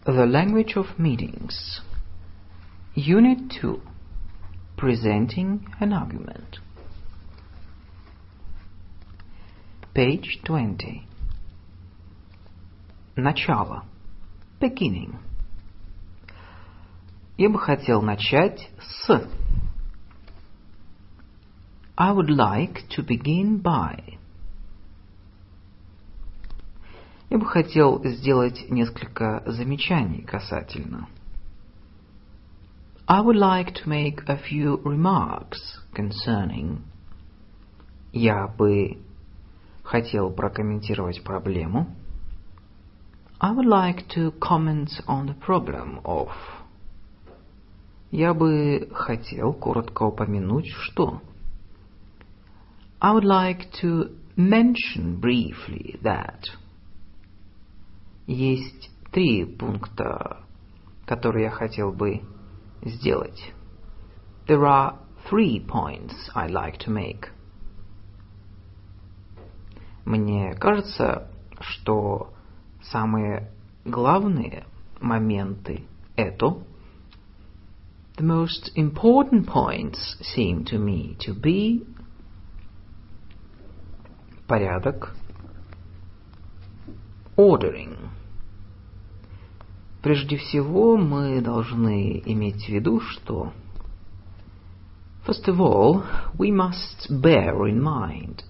The Language of Meetings. Unit 2. Presenting an Argument. Page 20. Начало. Beginning. Я бы хотел начать с. I would like to begin by. Я бы хотел сделать несколько замечаний касательно. I would like to make a few remarks concerning. Я бы хотел прокомментировать проблему. I would like to comment on the problem of. Я бы хотел коротко упомянуть, что. I would like to mention briefly that. Есть 3 пункта, которые я хотел бы сделать. There are 3 points I'd like to make. Мне кажется, что самые главные моменты это. The most important points seem to me to be порядок, ordering. Прежде всего, мы должны иметь в виду, что First of all, we must bear in mind.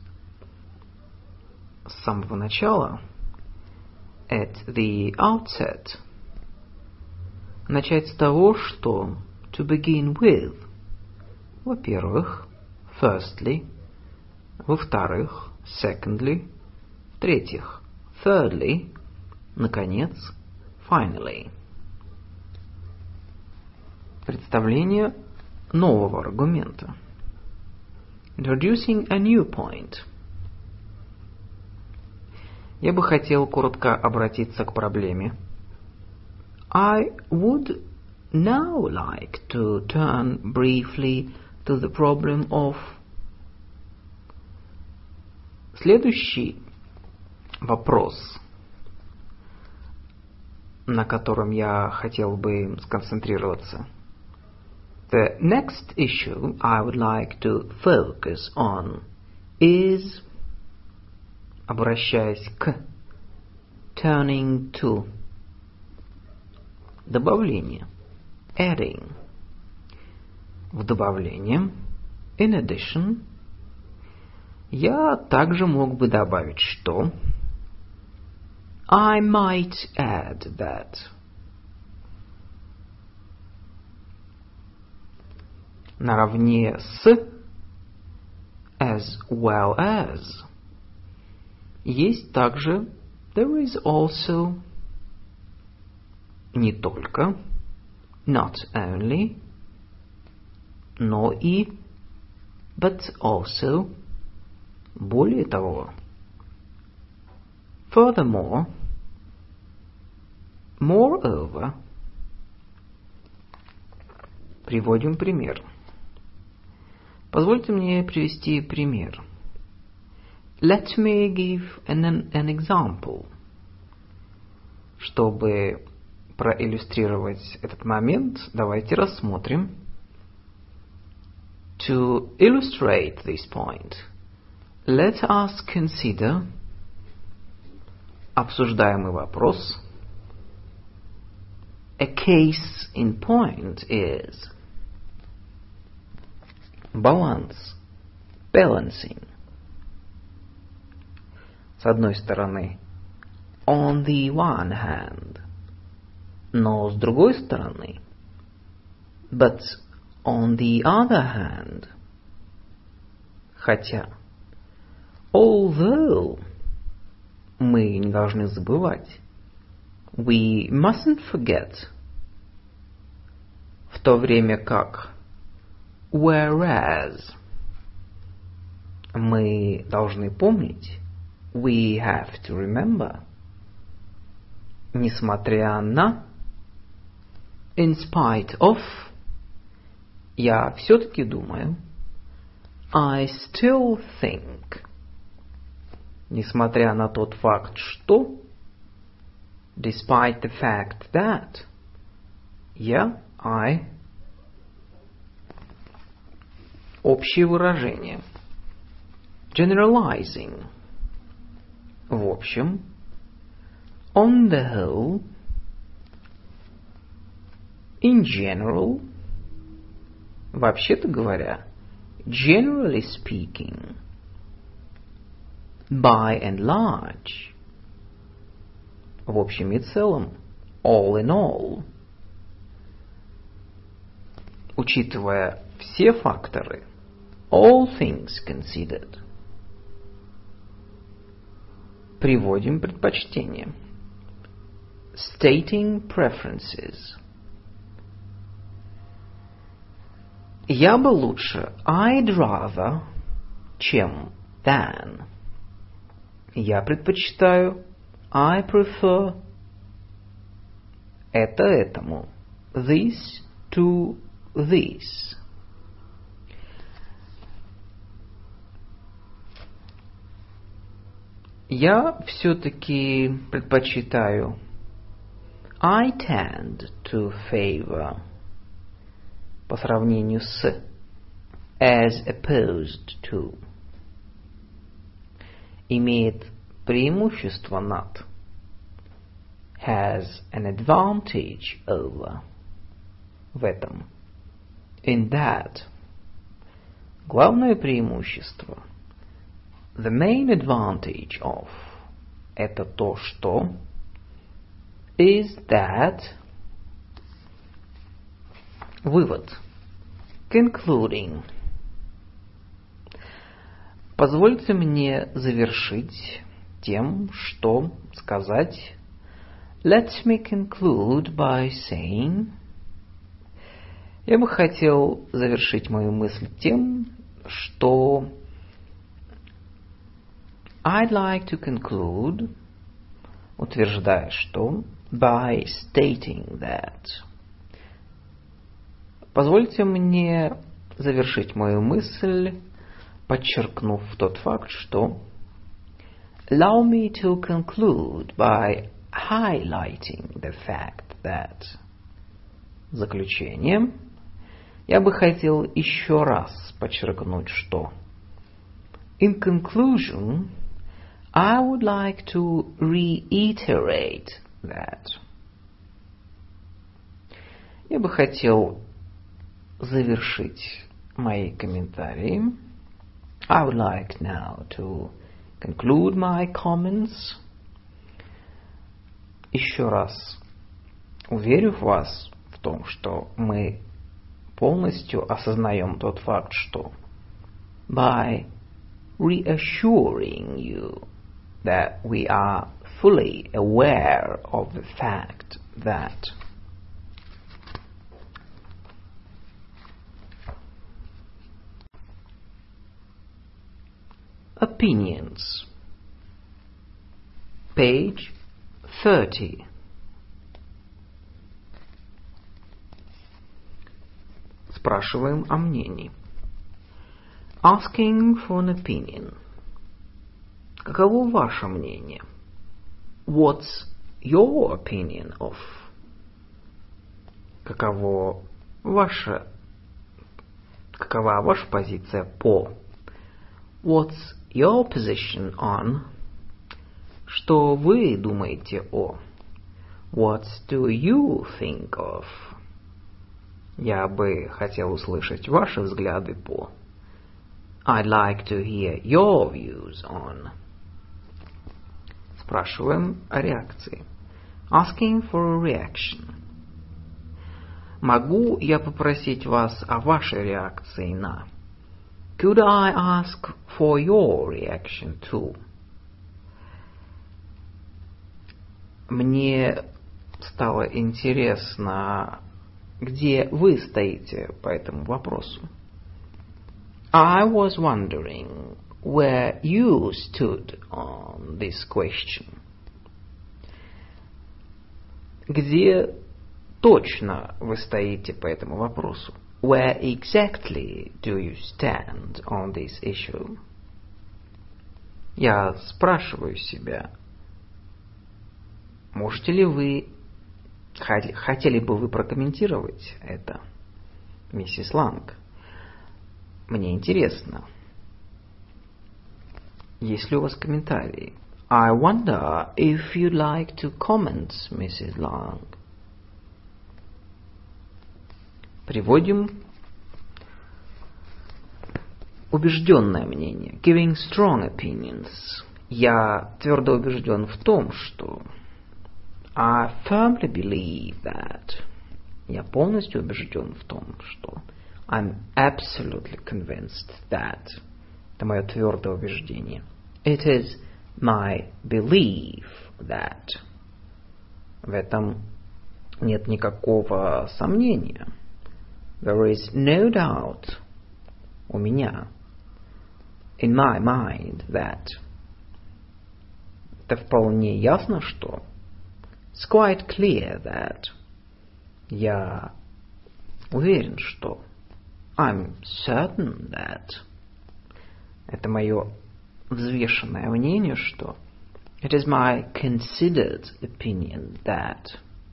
С самого начала, at the outset, начать с того, что to begin with. Во-первых, firstly. Во-вторых, secondly. В-третьих, thirdly. Наконец, finally. Представление нового аргумента. Introducing a new point. Я бы хотел коротко обратиться к проблеме. I would now like to turn briefly to the problem of. Следующий вопрос, на котором я хотел бы сконцентрироваться. The next issue I would like to focus on is, обращаясь к, turning to, добавление, adding. В добавление, in addition, я также мог бы добавить, что I might add that. Наравне с as well as. Есть также there is also не только not only но и but also более того. Furthermore, moreover. Приводим пример. Позвольте мне привести пример. Let me give an example. Чтобы проиллюстрировать этот момент, давайте рассмотрим. To illustrate this point, let us consider обсуждаемый вопрос. A case in point is баланс, balancing. С одной стороны, on the one hand, но с другой стороны, but on the other hand, хотя, although, мы не должны забывать, we mustn't forget, в то время как, whereas, мы должны помнить, we have to remember, несмотря на, in spite of, я все-таки думаю, I still think, несмотря на тот факт, что, Despite the fact that. Я, I. Общее выражение. Generalizing. В общем. On the whole. In general. Вообще-то говоря. Generally speaking. By and large. В общем и целом. All in all. Учитывая все факторы. All things considered. Приводим предпочтение. Stating preferences. Я бы лучше. I'd rather. Чем. Than. Я предпочитаю. I prefer. Это этому. This to this. Я все-таки предпочитаю. I tend to favor. По сравнению с. As opposed to. Имеет преимущество над. Has an advantage over. В этом. In that. Главное преимущество. The main advantage of. Это то, что. Is that. Вывод. Concluding. Позвольте мне завершить тем, что сказать. Let me conclude by saying. Я бы хотел завершить мою мысль тем, что I'd like to conclude, утверждая, что by stating that. Позвольте мне завершить мою мысль, подчеркнув тот факт, что Allow me to conclude by highlighting the fact that. Заключение. Я бы хотел еще раз подчеркнуть, что In conclusion, I would like to reiterate that. Я бы хотел завершить мои комментарии. I would like now to conclude my comments. Еще раз уверю вас в том, что мы полностью осознаем тот факт, что by reassuring you that we are fully aware of the fact that opinions. Page 30. Спрашиваем о мнении. Asking for an opinion. Каково ваше мнение? What's your opinion of? Какова ваша позиция по? What's your position on? Что вы думаете о? What do you think of? Я бы хотел услышать ваши взгляды по. I'd like to hear your views on. Спрашиваем о реакции. Asking for a reaction. Могу я попросить вас о вашей реакции на? Could I ask for your reaction to? Мне стало интересно, где вы стоите по этому вопросу. I was wondering where you stood on this question. Где точно вы стоите по этому вопросу? Where exactly do you stand on this issue? Я спрашиваю себя, Хотели бы вы прокомментировать это, миссис Ланг? Мне интересно. Есть ли у вас комментарии? I wonder if you'd like to comment, Mrs. Lang. Приводим убежденное мнение. Giving strong opinions. Я твердо убежден в том, что... I firmly believe that. Я полностью убежден в том, что... I'm absolutely convinced that. Это мое твердое убеждение. It is my belief that. В этом нет никакого сомнения. There is no doubt. У меня. In my mind that. Это вполне ясно, что. It's quite clear that. Я уверен, что. I'm certain that. Это мое взвешенное мнение, что. It is my considered opinion that.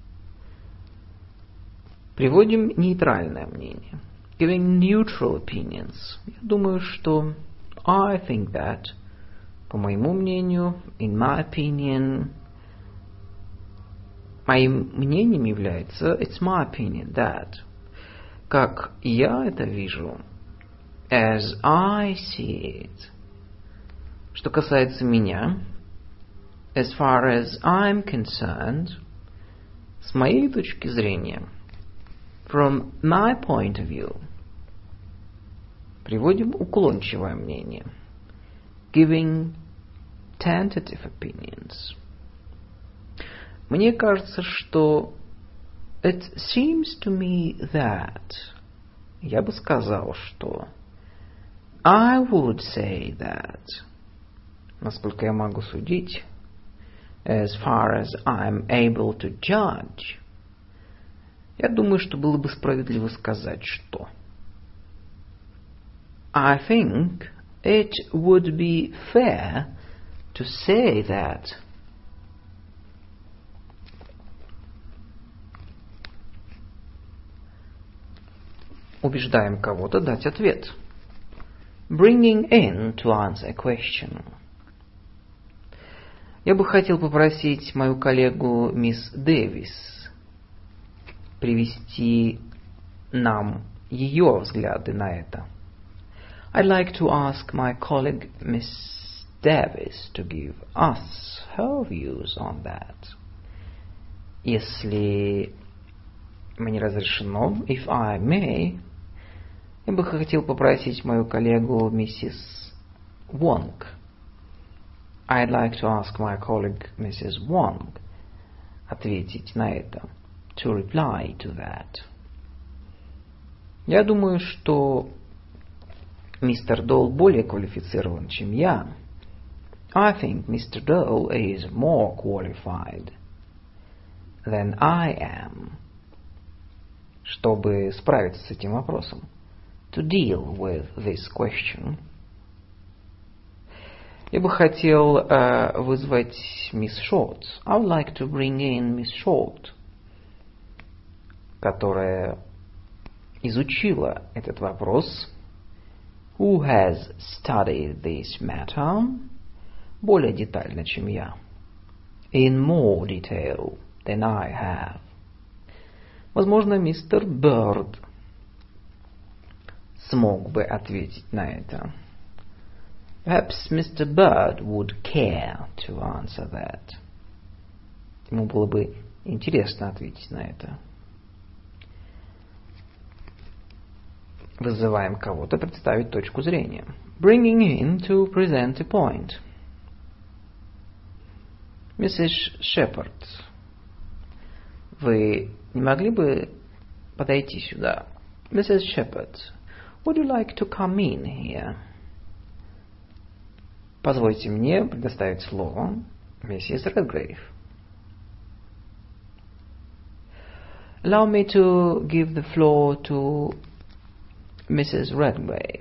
Приводим нейтральное мнение. Giving neutral opinions. Я думаю, что. I think that. По моему мнению, in my opinion. Моим мнением является it's my opinion that. Как я это вижу. As I see it. Что касается меня. As far as I'm concerned. С моей точки зрения. From my point of view. Приводим уклончивое мнение. Giving tentative opinions. Мне кажется, что it seems to me that. Я бы сказал, что I would say that. Насколько я могу судить. As far as I'm able to judge. Я думаю, что было бы справедливо сказать, что. I think it would be fair to say that. Убеждаем кого-то дать ответ. Bringing in to answer a question. Я бы хотел попросить мою коллегу мисс Дэвис привести нам ее взгляды на это. I'd like to ask my colleague Miss Davis to give us her views on that. Если мне разрешено, if I may, я бы хотел попросить мою коллегу миссис Вонг. I'd like to ask my colleague Mrs. Wong ответить на это. To reply to that. Я думаю, что мистер Доул более квалифицирован, чем я. I think Mr. Dole is more qualified than I am. Чтобы справиться с этим вопросом. To deal with this question. Я бы хотел вызвать мисс Шорт. I would like to bring in Miss Short, которая изучила этот вопрос. Who has studied this matter? Более детально, чем я. In more detail than I have. Возможно, мистер Бёрд смог бы ответить на это. Perhaps Mr. Bird would care to answer that. Ему было бы интересно ответить на это. Вызываем кого-то представить точку зрения. Bringing in to present a point. Mrs. Shepherd, вы не могли бы подойти сюда? Mrs. Shepherd, would you like to come in here? Позвольте мне предоставить слово миссис Редгрейв. Allow me to give the floor to Mrs. Redgrave.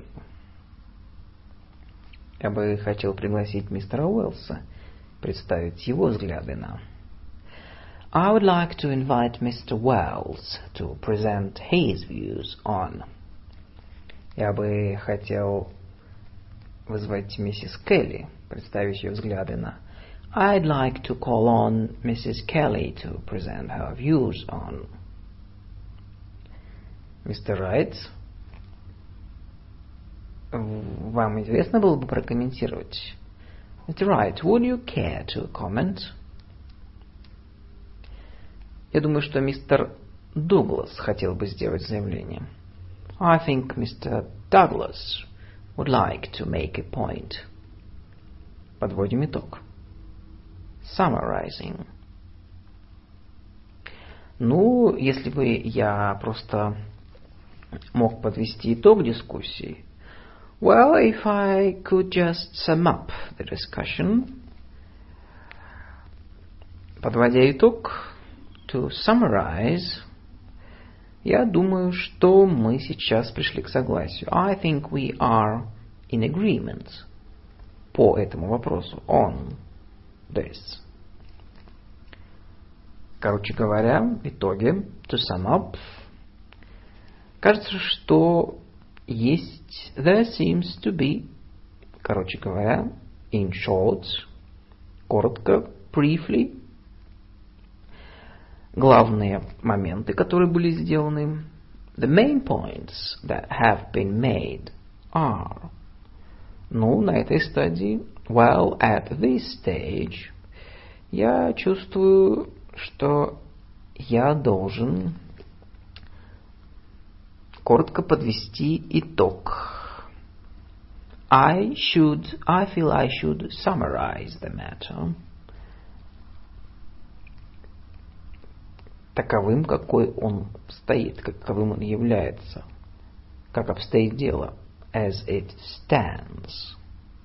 Я бы хотел пригласить мистера Уэллса представить его взгляды на. I would like to invite Mr. Wells to present his views on. Я бы хотел вызвать миссис Келли, представить ее взгляды на. I'd like to call on Mrs. Kelly to present her views on. Мистер Райт, вам интересно было бы прокомментировать? Mr. Wright, would you care to comment? Я думаю, что мистер Дуглас хотел бы сделать заявление. I think Mr. Douglas would like to make a point. Подводим итог. Summarizing. Ну, если бы я просто мог подвести итог дискуссии. Well, if I could just sum up the discussion. Подводя итог, to summarize, я думаю, что мы сейчас пришли к согласию. I think we are in agreement по этому вопросу. On this. Короче говоря, в итоге, to sum up, кажется, что есть, there seems to be, короче говоря, in short, коротко, briefly, главные моменты, которые были сделаны, the main points that have been made are, ну, на этой стадии, well, at this stage, я чувствую, что я должен коротко подвести итог. I feel I should summarize the matter. Таковым, какой он стоит, каковым он является, как обстоит дело, as it stands.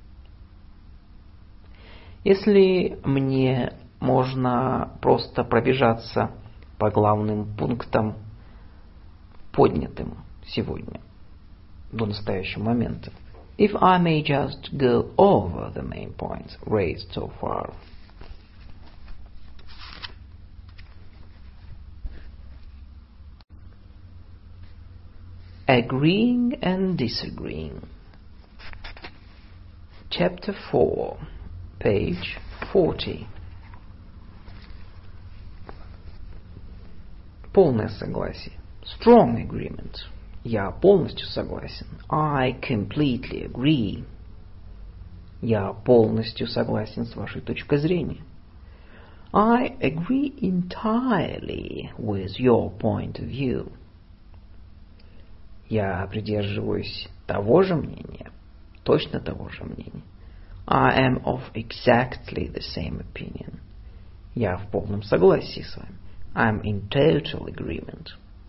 Если мне можно просто пробежаться по главным пунктам, поднятым сегодня, до настоящего момента. If I may just go over the main points raised so far. Agreeing and disagreeing. Chapter 4, page 40. Полное согласие. Strong agreement. Я полностью согласен. I completely agree. Я полностью согласен с вашей точкой зрения. I agree entirely with your point of view. Я придерживаюсь того же мнения, точно того же мнения. I am of exactly the same opinion. Я в полном согласии с вами. I am in total agreement.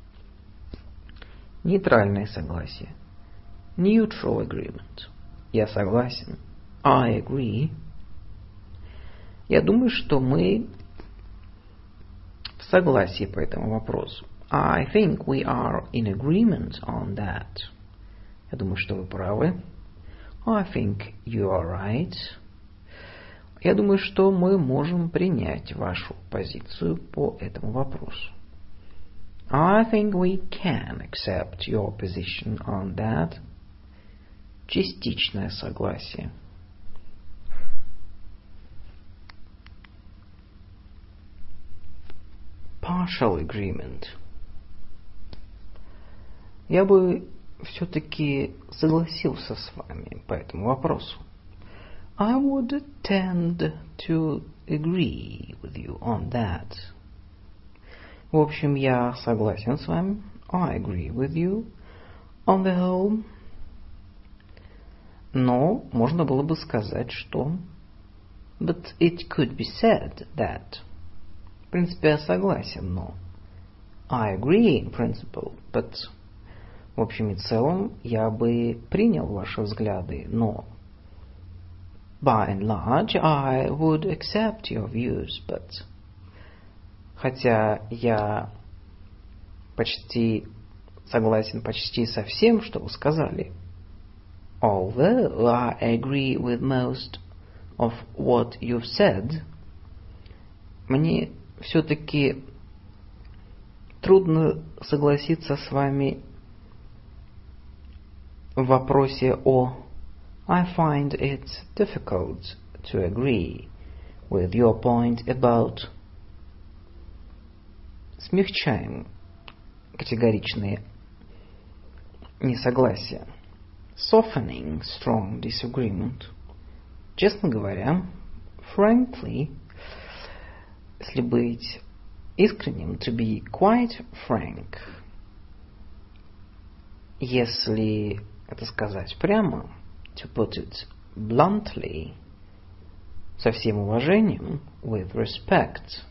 Нейтральное согласие. Neutral agreement. Я согласен. I agree. Я думаю, что мы в согласии по этому вопросу. I think we are in agreement on that. Я думаю, что вы правы. I think you are right. Я думаю, что мы можем принять вашу позицию по этому вопросу. I think we can accept your position on that. Частичное согласие. Partial agreement. Я бы все-таки согласился с вами по этому вопросу. I would tend to agree with you on that. В общем, я согласен с вами. I agree with you on the whole. Но можно было бы сказать, что but it could be said that. В принципе, я согласен, но I agree in principle, but в общем и целом я бы принял ваши взгляды, но by and large I would accept your views, but хотя я почти согласен почти со всем, что вы сказали, although I agree with most of what you've said, мне все-таки трудно согласиться с вами в вопросе о I find it difficult to agree with your point about. Смягчаем категоричные несогласия. Softening strong disagreement. Честно говоря, frankly, если быть искренним, to be quite frank. Если это сказать прямо, to put it bluntly, со всем уважением, with respect,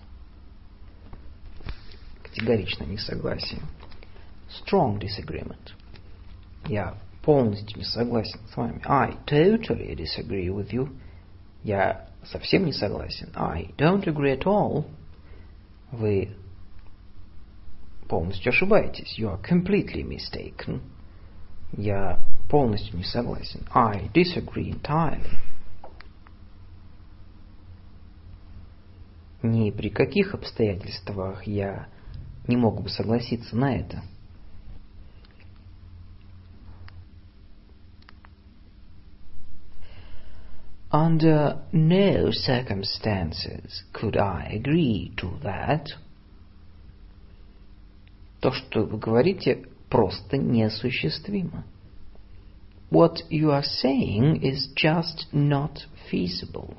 категоричное несогласие. Strong disagreement. Я полностью не согласен с вами. I totally disagree with you. Я совсем не согласен. I don't agree at all. Вы полностью ошибаетесь. You are completely mistaken. Я полностью не согласен. I disagree entirely. Ни при каких обстоятельствах я не мог бы согласиться на это. Under no circumstances could I agree to that. То, что вы говорите, просто неосуществимо. What you are saying is just not feasible.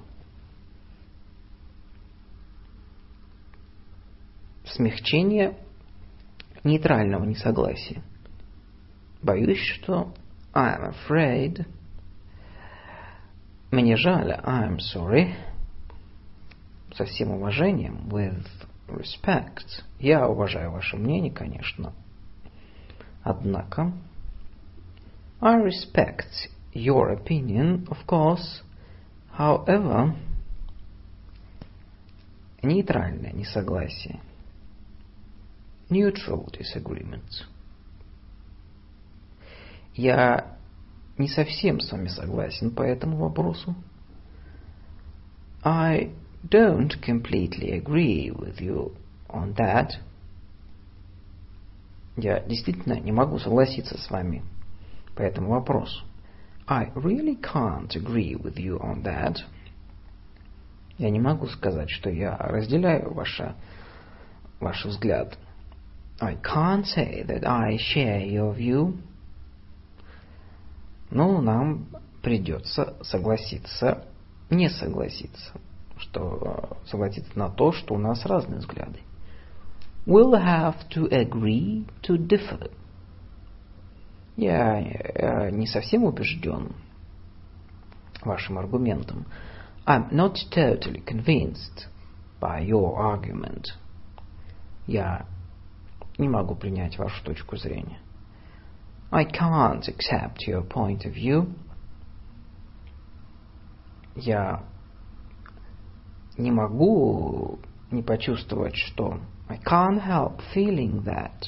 Смягчение нейтрального несогласия. Боюсь, что I'm afraid. Мне жаль, I'm sorry. Со всем уважением, with respect. Я уважаю ваше мнение, конечно. Однако, I respect your opinion, of course. However, нейтральное несогласие. Neutral disagreement. Я не совсем с вами согласен по этому вопросу. I don't completely agree with you on that. Я действительно не могу согласиться с вами по этому вопросу. I really can't agree with you on that. Я не могу сказать, что я разделяю ваш взгляд. I can't say that I share your view. Но нам придется согласиться, не согласиться, согласиться на то, что у нас разные взгляды. We'll have to agree to differ. Я не совсем убежден вашим аргументом. I'm not totally convinced by your argument. Я не могу принять вашу точку зрения. I can't accept your point of view. Я не могу не почувствовать, что I can't help feeling that.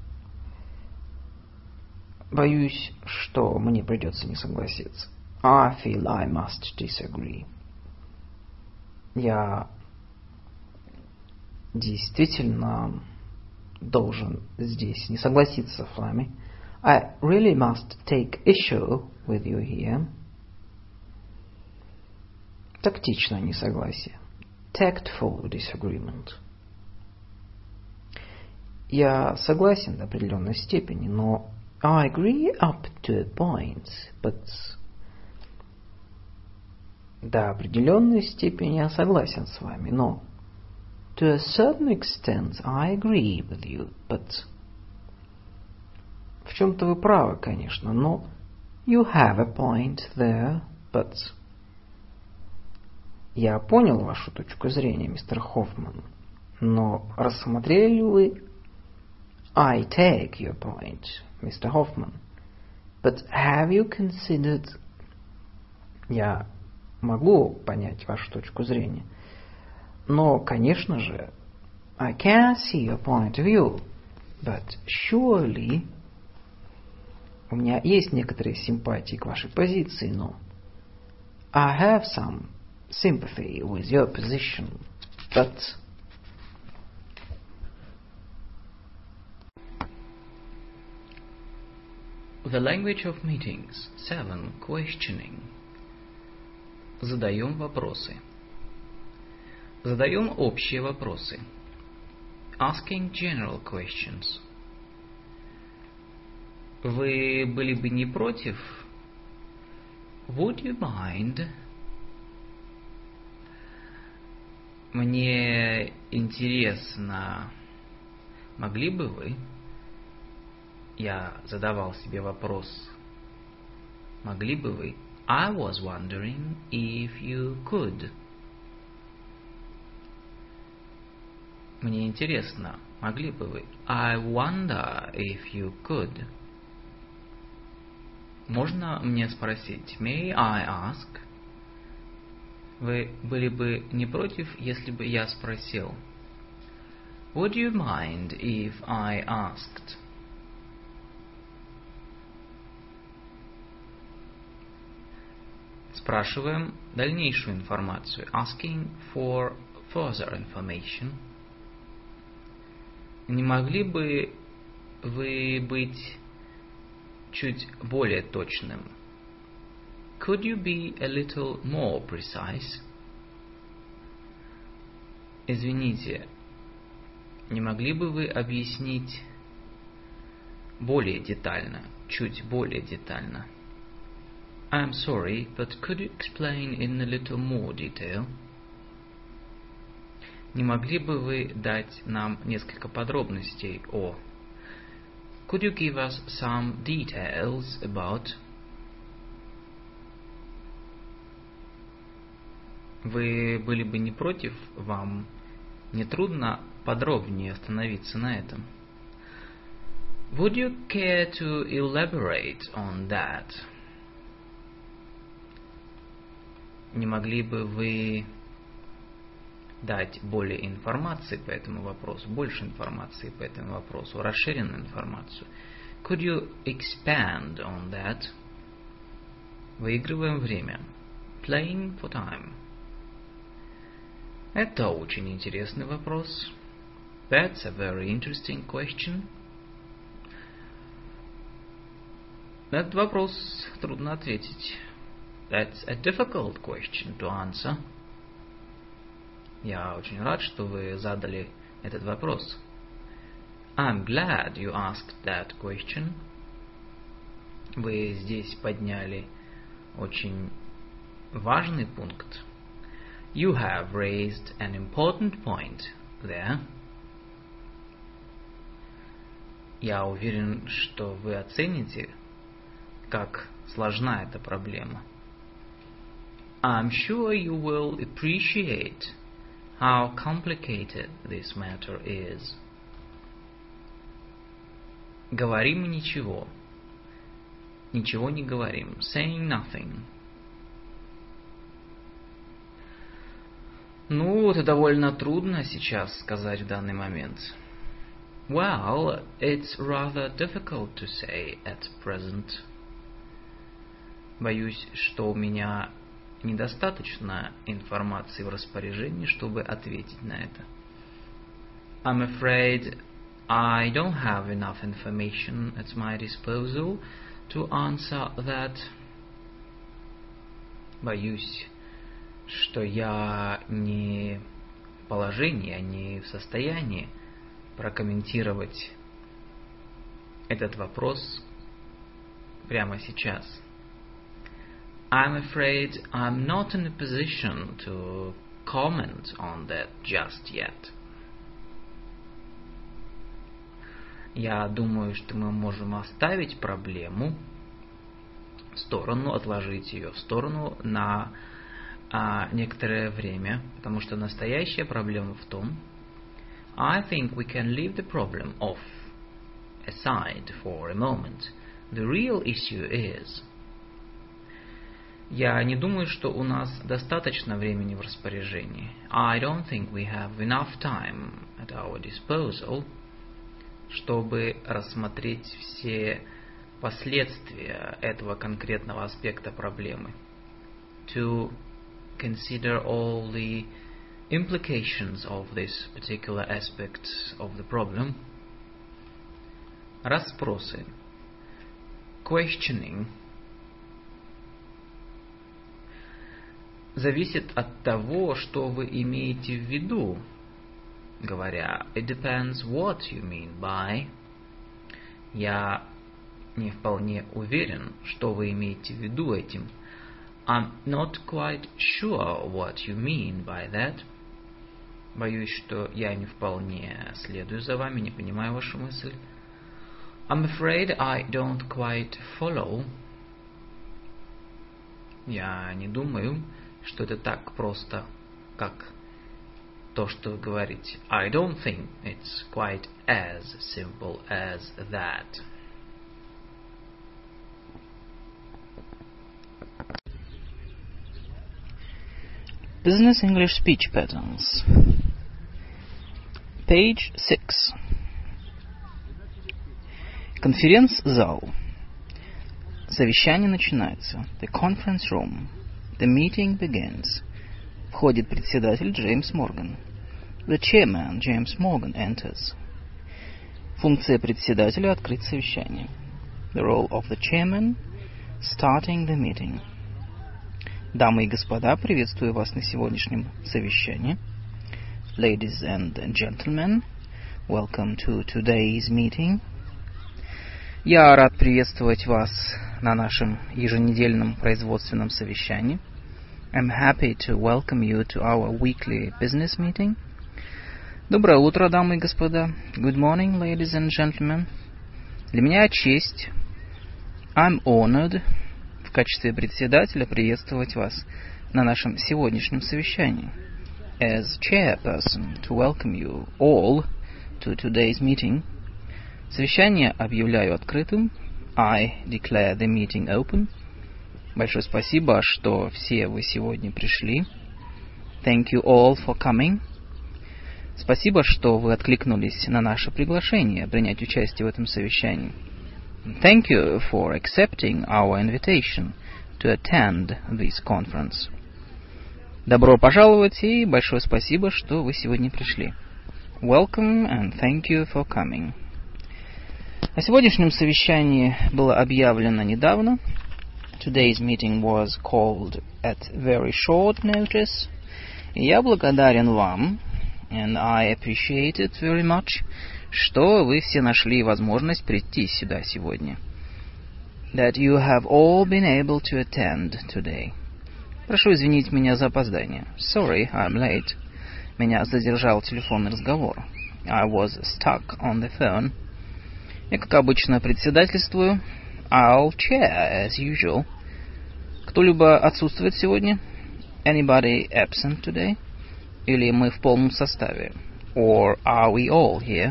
Боюсь, что мне придется не согласиться. I feel I must disagree. Я действительно должен здесь не согласиться с вами. I really must take issue with you here. Тактичное несогласие. Tactful disagreement. Я согласен до определенной степени, но I agree up to a point, but до определенной степени я согласен с вами, но to a certain extent I agree with you, but в чем-то вы правы, конечно, но you have a point there, but я понял вашу точку зрения, мистер Хоффман, но рассмотрели ли вы I take your point, Mr. Hoffman, but have you considered... Я могу понять вашу точку зрения, но, конечно же, I can see your point of view, but surely... У меня есть некоторые симпатии к вашей позиции, но I have some sympathy with your position, but The language of meetings. 7. Questioning. Задаем вопросы. Задаем общие вопросы. Asking general questions. Вы были бы не против? Would you mind? Мне интересно, могли бы вы? Я задавал себе вопрос, могли бы вы? I was wondering if you could. Мне интересно, могли бы вы? I wonder if you could. Можно мне спросить? May I ask? Вы были бы не против, если бы я спросил? Would you mind if I asked? Спрашиваем дальнейшую информацию. Asking for further information. Не могли бы вы быть чуть более точным? Could you be a little more precise? Извините, не могли бы вы объяснить более детально, чуть более детально? I'm sorry, but could you explain in a little more detail? Не могли бы вы дать нам несколько подробностей о? Could you give us some details about? Вы были бы не против, вам не трудно подробнее остановиться на этом? Would you care to elaborate on that? Не могли бы вы дать более информации по этому вопросу, больше информации по этому вопросу, расширенную информацию? Could you expand on that? Выигрываем время. Playing for time. Это очень интересный вопрос. That's a very interesting question. На этот вопрос трудно ответить. That's a difficult question to answer. Я очень рад, что вы задали этот вопрос. I'm glad you asked that question. Вы здесь подняли очень важный пункт. You have raised an important point there. Я уверен, что вы оцените, как сложна эта проблема. I'm sure you will appreciate how complicated this matter is. Говорим ничего. Ничего не говорим. Saying nothing. Ну, это довольно трудно сейчас сказать в данный момент. Well, it's rather difficult to say at present. Боюсь, что у меня недостаточно информации в распоряжении, чтобы ответить на это. I'm afraid I don't have enough information at my disposal to answer that. Боюсь, что я не в положении, а не в состоянии прокомментировать этот вопрос прямо сейчас. I'm afraid I'm not in a position to comment on that just yet. Я думаю, что мы можем оставить проблему в сторону, отложить ее в сторону на некоторое время, потому что настоящая проблема в том, I think we can leave the problem off aside for a moment. The real issue is... Я не думаю, что у нас достаточно времени в распоряжении. I don't think we have enough time at our disposal, чтобы рассмотреть все последствия этого конкретного аспекта проблемы. To consider all the implications of this particular aspect of the problem. Расспросы. questioning зависит от того, что вы имеете в виду, говоря it depends what you mean by. Я не вполне уверен, что вы имеете в виду этим. I'm not quite sure what you mean by that. Боюсь, что я не вполне следую за вами, не понимаю вашу мысль. I'm afraid I don't quite follow. Я не думаю, что это так просто, как то, что вы говорите. I don't think it's quite as simple as that. Business English Speech Patterns. Page 6. Конференц-зал. Совещание начинается. The conference room. The meeting begins. Входит председатель Джеймс Морган. The chairman, James Morgan, enters. Функция председателя — открыть совещание. The role of the chairman — starting the meeting. Дамы и господа, приветствую вас на сегодняшнем совещании. Ladies and gentlemen, welcome to today's meeting. Я рад приветствовать вас на нашем еженедельном производственном совещании. I'm happy to welcome you to our weekly business meeting. Доброе утро, дамы и господа. Good morning, ladies and gentlemen. Для меня честь. I'm honored в качестве председателя приветствовать вас на нашем сегодняшнем совещании. As chairperson, to welcome you all to today's meeting. Совещание объявляю открытым. I declare the meeting open. Большое спасибо, что все вы сегодня пришли. Thank you all for coming. Спасибо, что вы откликнулись на наше приглашение принять участие в этом совещании. Thank you for accepting our invitation to attend this conference. Добро пожаловать и большое спасибо, что вы сегодня пришли. Welcome and thank you for coming. О сегодняшнем совещании было объявлено недавно. Today's meeting was called at very short notice. И я благодарен вам, and I appreciate it very much, что вы все нашли возможность прийти сюда сегодня. That you have all been able to attend today. Прошу извинить меня за опоздание. Sorry, I'm late. Меня задержал телефонный разговор. I was stuck on the phone. Я, как обычно, председательствую. I'll chair, as usual. Кто-либо отсутствует сегодня? Anybody absent today? Или мы в полном составе? Or are we all here?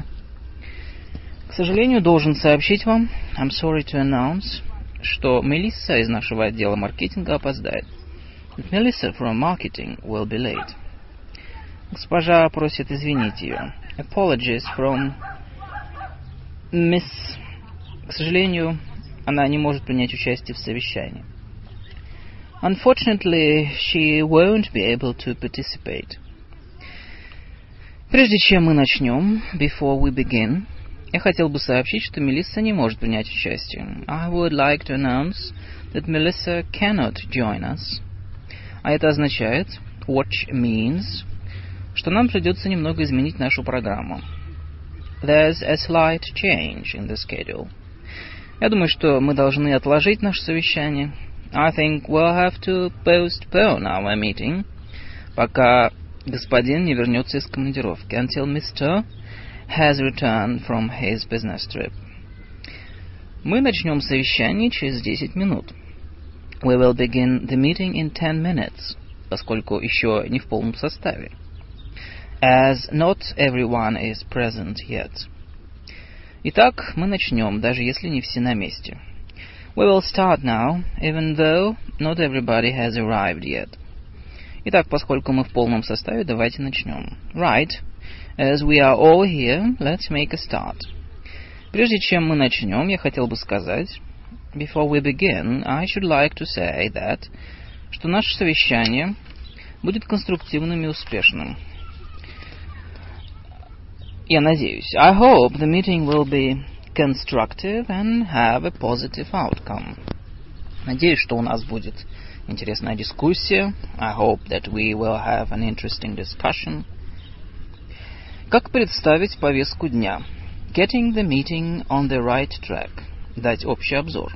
К сожалению, должен сообщить вам, I'm sorry to announce, что Мелисса из нашего отдела маркетинга опоздает. Melissa from marketing will be late. Госпожа просит извинить ее. Apologies from Miss. К сожалению, она не может принять участие в совещании. Unfortunately, she won't be able to participate. Прежде чем мы начнем, before we begin, я хотел бы сообщить, что Мелисса не может принять участие. I would like to announce that Melissa cannot join us. А это означает, which means, что нам придется немного изменить нашу программу. There's a slight change in the schedule. Я думаю, что мы должны отложить наше совещание. I think we'll have to postpone our meeting, пока господин не вернется из командировки, until Mr. has returned from his business trip. Мы начнем совещание через 10 минут. We will begin the meeting in 10 minutes, поскольку еще не в полном составе. As not everyone is present yet. Итак, мы начнем, даже если не все на месте. We will start now, even though not everybody has arrived yet. Итак, поскольку мы в полном составе, давайте начнем. Right. As we are all here, let's make a start. Прежде чем мы начнем, я хотел бы сказать, before we begin, I should like to say that, что наше совещание будет конструктивным и успешным. Я надеюсь. I hope the meeting will be constructive and have a positive outcome. Надеюсь, что у нас будет интересная дискуссия. I hope that we will have an interesting discussion. Как представить повестку дня? Getting the meeting on the right track. Дать общий обзор.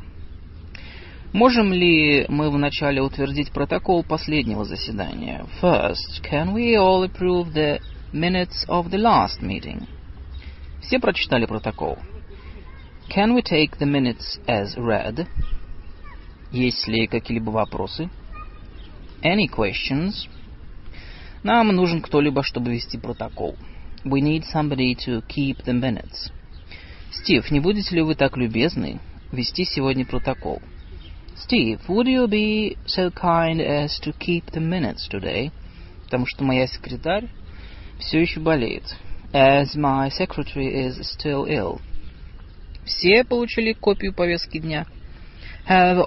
Можем ли мы вначале утвердить протокол последнего заседания? First, can we all approve the minutes of the last meeting? Все прочитали протокол. Can we take the minutes as read? Есть ли какие-либо вопросы? Any questions? Нам нужен кто-либо, чтобы вести протокол. We need somebody to keep the minutes. Стив, не будете ли вы так любезны вести сегодня протокол? Steve, would you be so kind as to keep the minutes today? Потому что моя секретарь все еще болеет. As my secretary is still ill. Все получили копию повестки дня? Have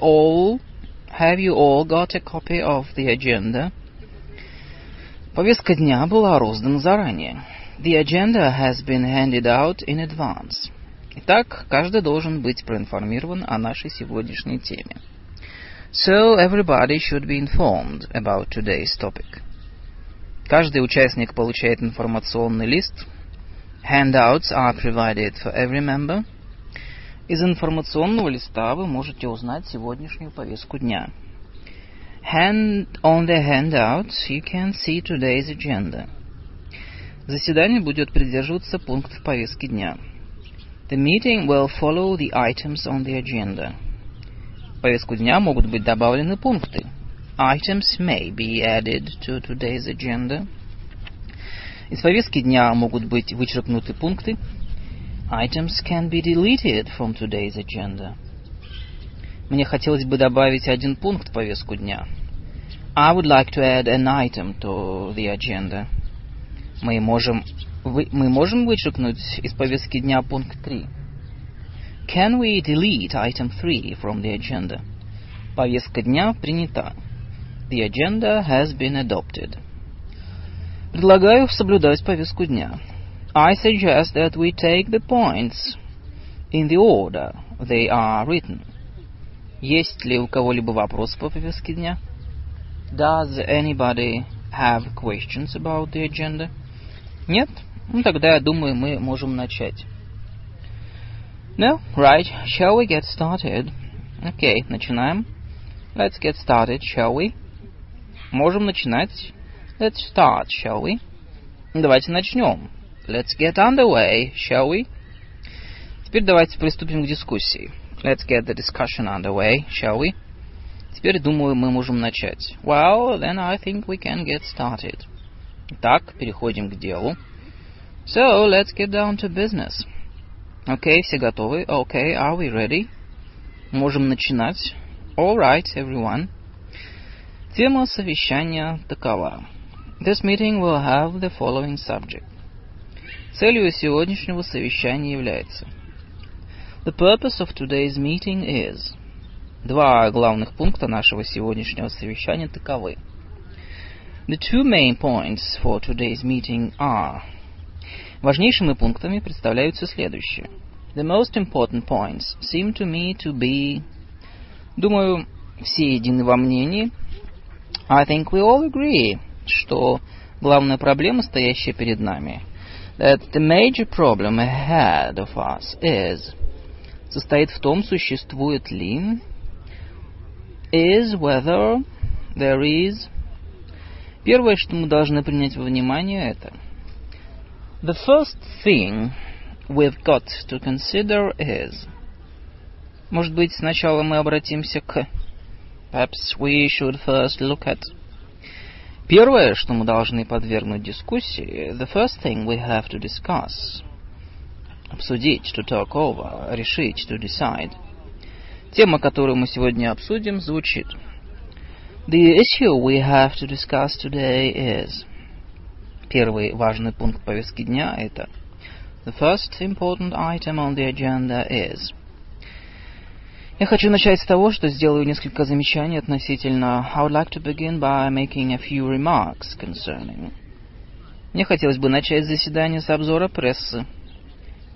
you all got a copy of the agenda? Повестка дня была роздана заранее. The agenda has been handed out in advance. Итак, каждый должен быть проинформирован о нашей сегодняшней теме. So everybody should be informed about today's topic. Каждый участник получает информационный лист. Handouts are provided for every member. Из информационного листа вы можете узнать сегодняшнюю повестку дня. On the handouts you can see today's agenda. Заседание будет придерживаться пунктов повестки дня. The meeting will follow the items on the agenda. В повестку дня могут быть добавлены пункты. Items may be added to today's agenda. Из повестки дня могут быть вычеркнуты пункты. Items can be deleted from today's agenda. Мне хотелось бы добавить один пункт в повестку дня. I would like to add an item to the agenda. Мы можем вычеркнуть из повестки дня пункт 3. Can we delete item 3 from the agenda? Повестка дня принята. The agenda has been adopted. Предлагаю соблюдать повестку дня. I suggest that we take the points in the order they are written. Есть ли у кого-либо вопросы по повестке дня? Does anybody have questions about the agenda? Нет? Ну, тогда, я думаю, мы можем начать. No? Right. Shall we get started? Окей, начинаем. Let's get started, shall we? Можем начинать. Let's start, shall we? Давайте начнем. Let's get underway, shall we? Теперь давайте приступим к дискуссии. Let's get the discussion underway, shall we? Теперь, думаю, мы можем начать. Well, then I think we can get started. Итак, переходим к делу. So, let's get down to business. Окей, все готовы? Okay, are we ready? Можем начинать. All right, everyone. Тема совещания такова. This meeting will have the following subject. Целью сегодняшнего совещания является. The purpose of today's meeting is. Два главных пункта нашего сегодняшнего совещания таковы. The two main points for today's meeting are. Важнейшими пунктами представляются следующие. The most important points seem to me to be. Думаю, все едины во мнении. I think we all agree, что главная проблема, стоящая перед нами, that the major problem ahead of us is, состоит в том, существует ли, is whether there is. Первое, что мы должны принять во внимание, это the first thing we've got to consider is. Может быть, сначала мы обратимся к. Perhaps we should first look at. Первое, что мы должны подвергнуть дискуссии, the first thing we have to discuss. Обсудить, to talk over, решить, to decide. Тема, которую мы сегодня обсудим, звучит. The issue we have to discuss today is. Первый важный пункт повестки дня это. The first important item on the agenda is. Я хочу начать с того, что сделаю несколько замечаний относительно. I would like to begin by making a few remarks concerning. Мне хотелось бы начать заседание с обзора прессы.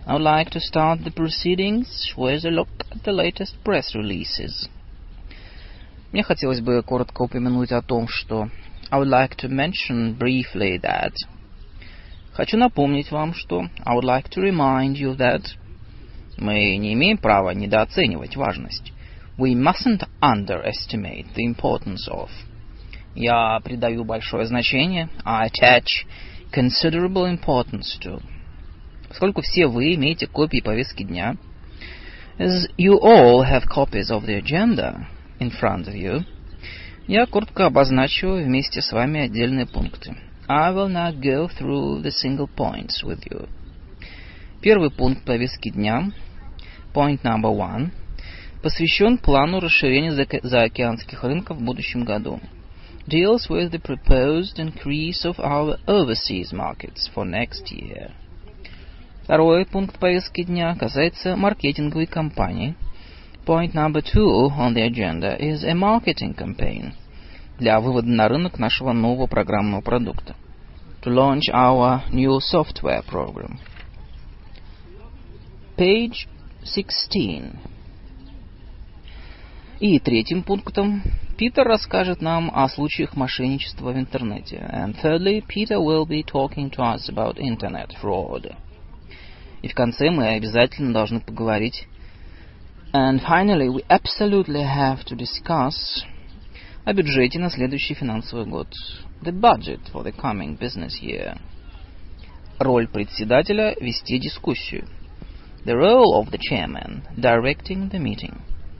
I would like to start the proceedings with a look at the latest press releases. Мне хотелось бы коротко упомянуть о том, что I would like to mention briefly that. Хочу напомнить вам, что I would like to remind you that. Мы не имеем права недооценивать важность. We mustn't underestimate the importance of. Я придаю большое значение. I attach considerable importance to. Поскольку все вы имеете копии повестки дня, as you all have copies of the agenda in front of you, я коротко обозначу вместе с вами отдельные пункты. I will now go through the single points with you. Первый пункт повестки дня, point number 1, посвящен плану расширения заокеанских рынков в будущем году. Deals with the proposed increase of our overseas markets for next year. Второй пункт повестки дня касается маркетинговой кампании. Point number 2 on the agenda is a marketing campaign для вывода на рынок нашего нового программного продукта. To launch our new software program. Page 16. И третьим пунктом Питер расскажет нам о случаях мошенничества в интернете. And thirdly, Peter will be talking to us about internet fraud. И в конце мы обязательно должны поговорить. And finally, we absolutely have to discuss о бюджете на следующий финансовый год. The budget for the coming business year. Роль председателя – вести дискуссию. The role of the chairman – directing the meeting.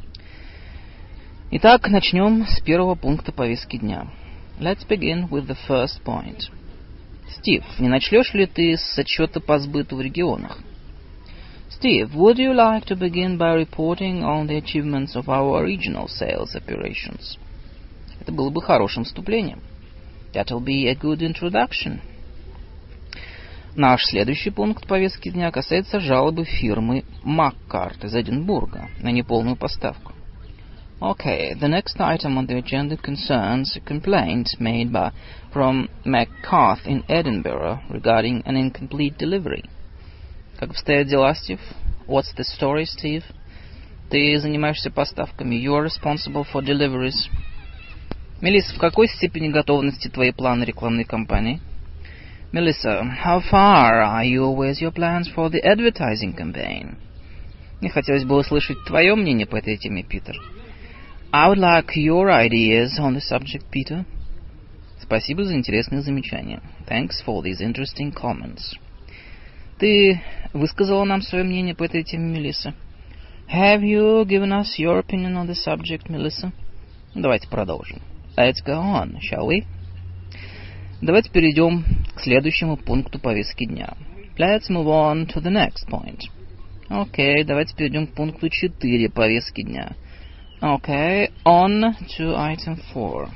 Итак, начнем с первого пункта повестки дня. Let's begin with the first point. Стив, не начнешь ли ты с отчета по сбыту в регионах? Steve, would you like to begin by reporting on the achievements of our regional sales operations? Это было бы хорошим вступлением. That'll be a good introduction. Наш следующий пункт повестки дня касается жалобы фирмы Маккарт из Эдинбурга на неполную поставку. Okay, the next item on the agenda concerns a complaint made from McCarth in Edinburgh regarding an incomplete delivery. Как обстоят дела, Стив? What's the story, Steve? Ты занимаешься поставками. You are responsible for deliveries. Мелисса, в какой степени готовности твои планы рекламной кампании? Melissa, how far are you with your plans for the advertising campaign? Мне хотелось бы услышать твое мнение по этой теме, Питер. I would like your ideas on the subject, Peter. Спасибо за интересные замечания. Thanks for these interesting comments. Ты высказала нам свое мнение по этой теме, Мелисса? Have you given us your opinion on the subject, Melissa? Давайте продолжим. Let's go on, shall we? Давайте перейдем к следующему пункту повестки дня. Let's move on to the next point. Окей, давайте перейдем к пункту 4 повестки дня. Okay, on to item 4.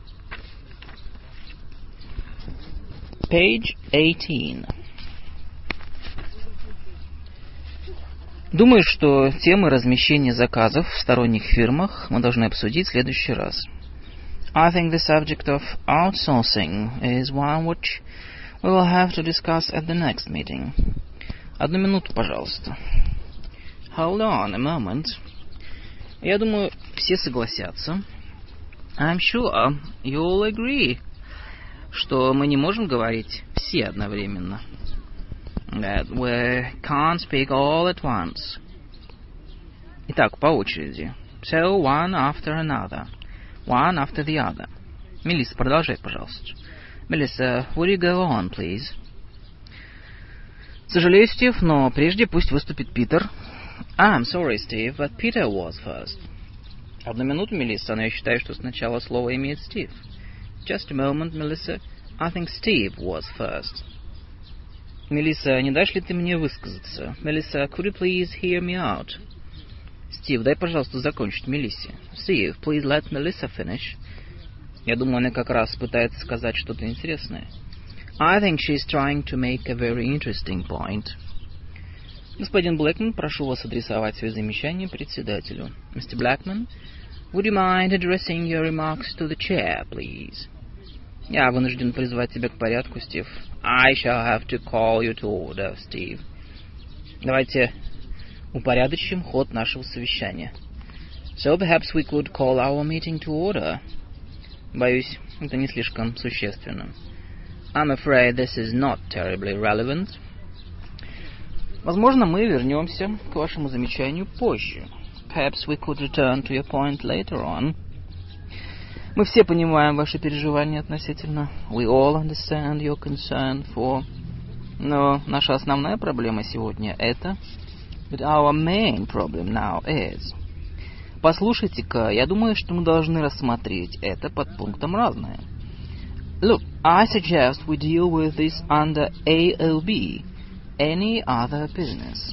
Page 18. Думаю, что темы размещения заказов в сторонних фирмах мы должны обсудить в следующий раз. I think the subject of outsourcing is one which we will have to discuss at the next meeting. Одну минуту, пожалуйста. Hold on a moment. Я думаю, все согласятся. I'm sure you'll agree, что мы не можем говорить все одновременно. That we can't speak all at once. Итак, по очереди. So one after another. One after the other. Мелисса, продолжай, пожалуйста. Melissa, would you go on, please? Сожалею, Стив, но прежде пусть выступит Питер. I'm sorry, Steve, but Peter was first. Одну минуту, Мелисса, но я считаю, что сначала слово имеет Стив. Just a moment, Melissa. I think Steve was first. Мелисса, не дашь ли ты мне высказаться? Melissa, could you please hear me out? Стив, дай, пожалуйста, закончить Мелиссе. Steve, please let Melissa finish. Я думаю, она как раз пытается сказать что-то интересное. I think she's trying to make a very interesting point. Господин Блэкман, прошу вас адресовать свои замечания председателю. Mr. Blackman, would you mind addressing your remarks to the chair, please? Я вынужден призвать тебя к порядку, Стив. I shall have to call you to order, Steve. Давайте упорядочим ход нашего совещания. So perhaps we could call our meeting to order. Боюсь, это не слишком существенно. I'm afraid this is not terribly relevant. Возможно, мы вернемся к вашему замечанию позже. Perhaps we could return to your point later on. Мы все понимаем ваши переживания относительно. We all understand your concern for. Но наша основная проблема сегодня это. But our main problem now is. Послушайте-ка, я думаю, что мы должны рассмотреть это под пунктом разное. Look, I suggest we deal with this under AOB. Any other business.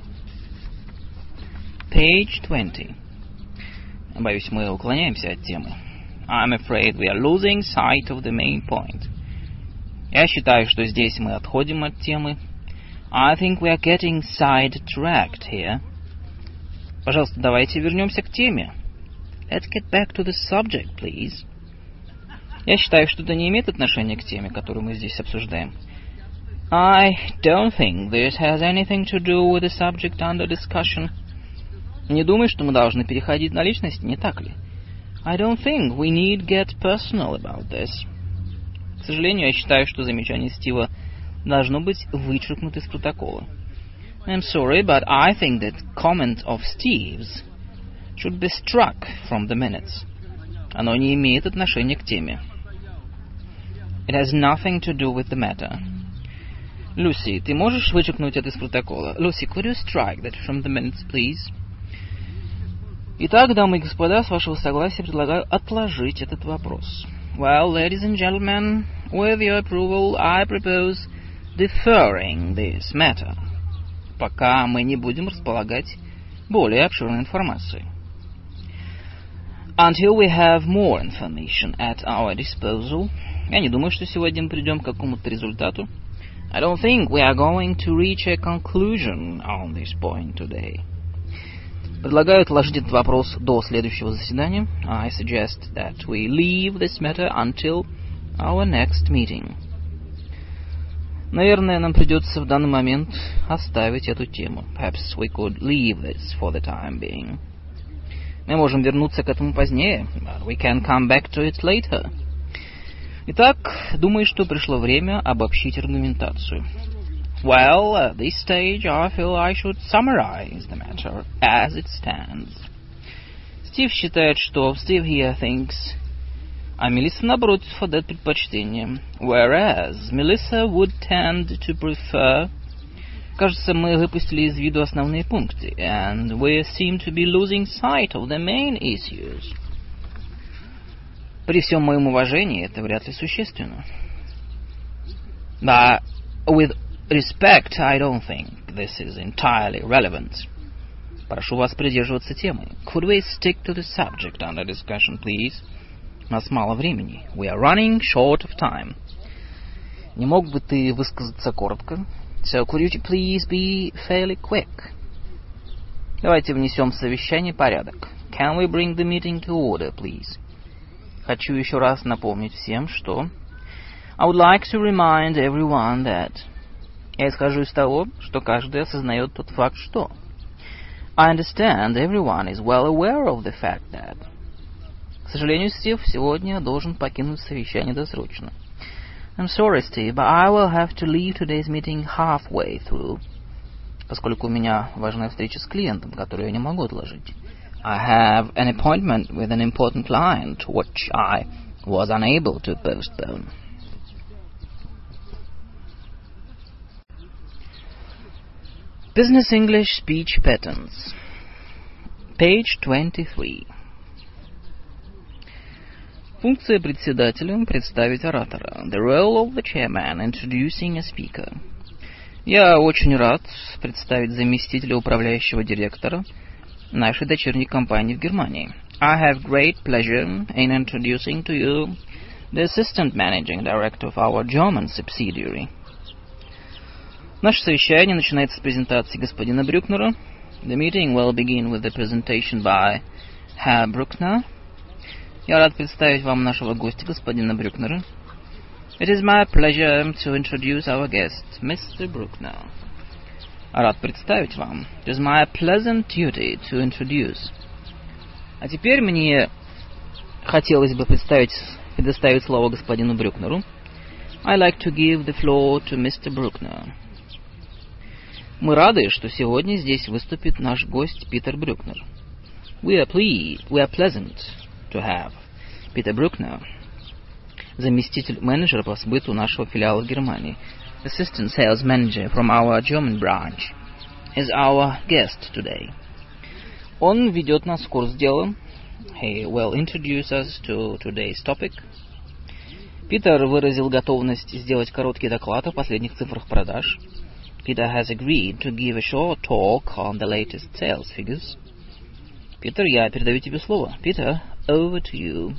Page 20. Боюсь, мы уклоняемся от темы. I'm afraid we are losing sight of the main point. Я считаю, что здесь мы отходим от темы. I think we are getting sidetracked here. Пожалуйста, давайте вернемся к теме. Let's get back to the subject, please. Я считаю, что это не имеет отношения к теме, которую мы здесь обсуждаем. I don't think this has anything to do with the subject under discussion. Не думаю, что мы должны переходить на личность, не так ли? I don't think we need get personal about this. К сожалению, я считаю, что замечание Стива должно быть вычеркнуто из протокола. I'm sorry, but I think that comment of Steve's should be struck from the minutes. Оно не имеет отношения к теме. It has nothing to do with the matter. Люси, ты можешь вычеркнуть это из протокола? Lucy, could you strike that from the minutes, please? Итак, дамы и господа, с вашего согласия предлагаю отложить этот вопрос. Well, ladies and gentlemen, with your approval, I propose deferring this matter. Пока мы не будем располагать более обширной информацией. Until we have more information at our disposal. Я не думаю, что сегодня мы придем к какому-то результату. I don't think we are going to reach a conclusion on this point today. Предлагаю отложить этот вопрос до следующего заседания. I suggest that we leave this matter until our next meeting. Наверное, нам придется в данный момент оставить эту тему. Perhaps we could leave this for the time being. Мы можем вернуться к этому позднее. But we can come back to it later. Итак, думаю, что пришло время обобщить аргументацию. Well, at this stage, I feel I should summarize the matter as it stands. Стив считает, что Steve here thinks, а Мелисса, напротив, отдает предпочтение. Whereas Melissa would tend to prefer. Кажется, мы выпустили из виду основные пункты, and we seem to be losing sight of the main issues. При всем моем уважении это вряд ли существенно. But with respect, I don't think this is entirely relevant. Прошу вас придерживаться темы. Could we stick to the subject under discussion, please? У нас мало времени. We are running short of time. Не мог бы ты высказаться коротко? So could you please be fairly quick? Давайте внесем в совещание порядок. Can we bring the meeting to order, please? Хочу еще раз напомнить всем, что I would like to remind everyone that. Я исхожу из того, что каждый осознает тот факт, что. I understand everyone is well aware of the fact that. К сожалению, Стив сегодня должен покинуть совещание досрочно. I'm sorry, Steve, but I will have to leave today's meeting halfway through. Поскольку у меня важная встреча с клиентом, которую я не могу отложить. I have an appointment with an important client, which I was unable to postpone. Business English Speech Patterns. Page 23. Функция председателя — представить оратора. The role of the chairman — introducing a speaker. Я очень рад представить заместителя управляющего директора нашей дочерней компании в Германии. I have great pleasure in introducing to you the assistant managing director of our German subsidiary. Наше совещание начинается с презентации господина Брюкнера. The meeting will begin with the presentation by Herr Bruckner. Я рад представить вам нашего гостя, господина Брюкнера. It is my pleasure to introduce our guest, Mr. Bruckner. Рад представить вам. It is my pleasant duty to introduce. А теперь мне хотелось бы предоставить слово господину Брюкнеру. I like to give the floor to Mr. Bruckner. Мы рады, что сегодня здесь выступит наш гость Питер Брюкнер. We are pleasant to have Peter Bruckner, заместитель менеджера по сбыту нашего филиала в Германии, assistant sales manager from our German branch, is our guest today. Он ведет нас в курс дела. He will introduce us to today's topic. Питер выразил готовность сделать короткий доклад о последних цифрах продаж. Peter has agreed to give a short talk on the latest sales figures. Питер, я передаю тебе слово. Peter, over to you.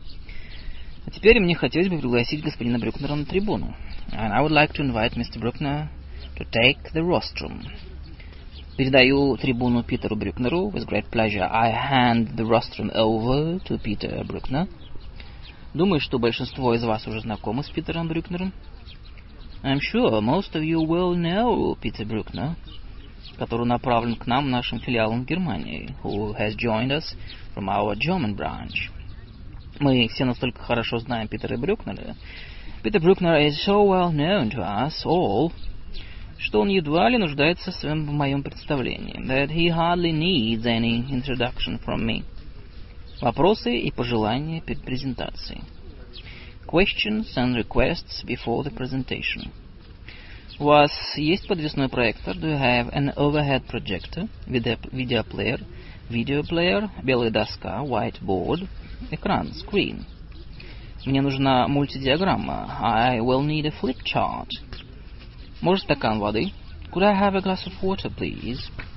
А теперь мне хотелось бы пригласить господина Брюкнера на трибуну. And I would like to invite Mr. Bruckner to take the rostrum. Передаю трибуну Питеру Брюкнеру. With great pleasure, I hand the rostrum over to Peter Bruckner. Думаю, что большинство из вас уже знакомы с Питером Брюкнером. I'm sure most of you will know Peter Bruckner, который направлен к нам нашим филиалом в Германии, who has joined us from our German branch. Мы все настолько хорошо знаем Питера Брюкнера. Peter Bruckner is so well known to us all, что он едва ли нуждается в моем представлении, that he hardly needs any introduction from me. Вопросы и пожелания перед презентацией. Questions and requests before the presentation. У вас есть подвесной проектор? Do you have an overhead projector, video player, белая доска, whiteboard, экран, screen? Мне нужна мультидиаграмма. I will need a flip chart. Может, стакан воды? Could I have a glass of water, please?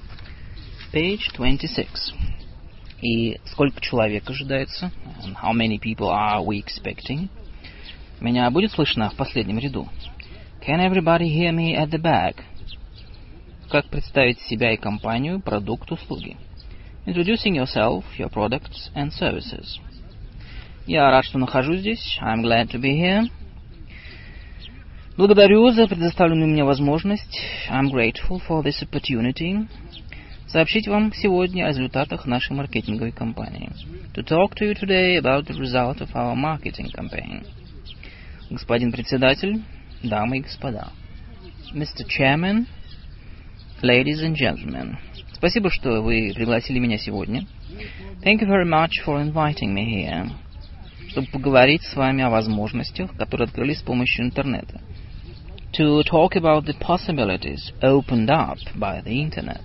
Page 26. И сколько человек ожидается? And how many people are we expecting? Меня будет слышно в последнем ряду? Can everybody hear me at the back? Как представить себя и компанию, продукт, услуги? Introducing yourself, your products and services. Я рад, что нахожусь здесь. I'm glad to be here. Благодарю за предоставленную мне возможность. I'm grateful for this opportunity. Сообщить вам сегодня о результатах нашей маркетинговой кампании. To talk to you today about the result of our marketing campaign. Господин председатель, дамы и господа. Mr. Chairman, ladies and gentlemen. Спасибо, что вы пригласили меня сегодня. Thank you very much for inviting me here. Чтобы поговорить с вами о возможностях, которые открылись с помощью интернета. To talk about the possibilities opened up by the internet.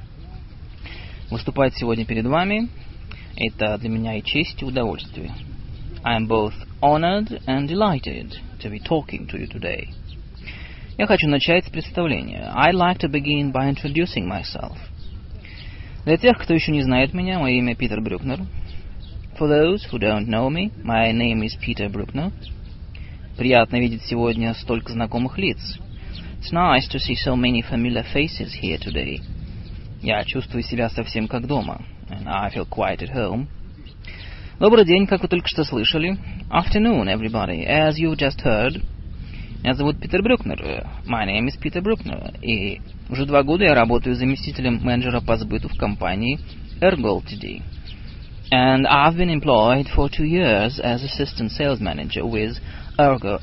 Выступать сегодня перед вами – это для меня и честь, и удовольствие. I am both honored and delighted to be talking to you today. Я хочу начать с представления. I'd like to begin by introducing myself. Для тех, кто еще не знает меня, мое имя Питер Брюкнер. For those who don't know me, my name is Peter Bruckner. Приятно видеть сегодня столько знакомых лиц. It's nice to see so many familiar faces here today. Я чувствую себя совсем как дома. And I feel quite at home. Добрый день, как вы только что слышали. Afternoon, everybody. As you just heard. Меня зовут Питер Брюкнер. My name is Peter Bruckner. И уже 2 года я работаю заместителем менеджера по сбыту в компании Ergo Ltd. And I've been employed for 2 years as assistant sales manager with Ergo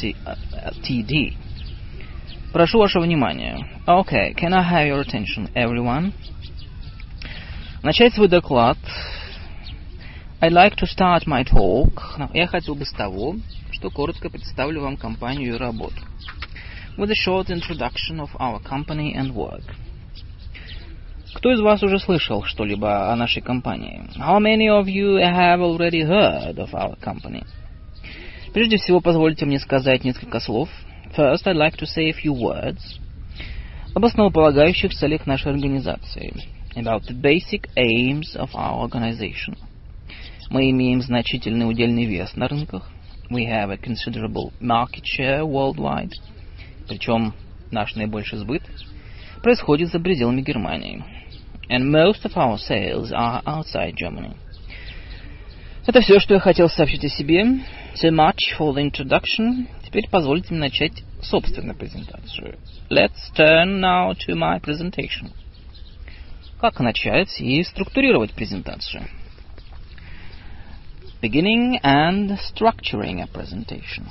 Ltd. Прошу вашего внимания. Okay, can I have your attention, everyone? Начать свой доклад. I'd like to start my talk. Я хотел бы с того, что коротко представлю вам компанию и работу. With a short introduction of our company and work. Кто из вас уже слышал что-либо о нашей компании? How many of you have already heard of our company? Прежде всего, позвольте мне сказать несколько слов. First, I'd like to say a few words об основополагающих целях нашей организации. About the basic aims of our organization. Мы имеем значительный удельный вес на рынках. We have a considerable market share worldwide. Причем наш наибольший сбыт происходит за пределами Германии. And most of our sales are outside Germany. Это все, что я хотел сообщить о себе. So much for the introduction. Теперь позвольте мне начать собственную презентацию. Let's turn now to my presentation. Как начать и структурировать презентацию? Beginning and structuring a presentation.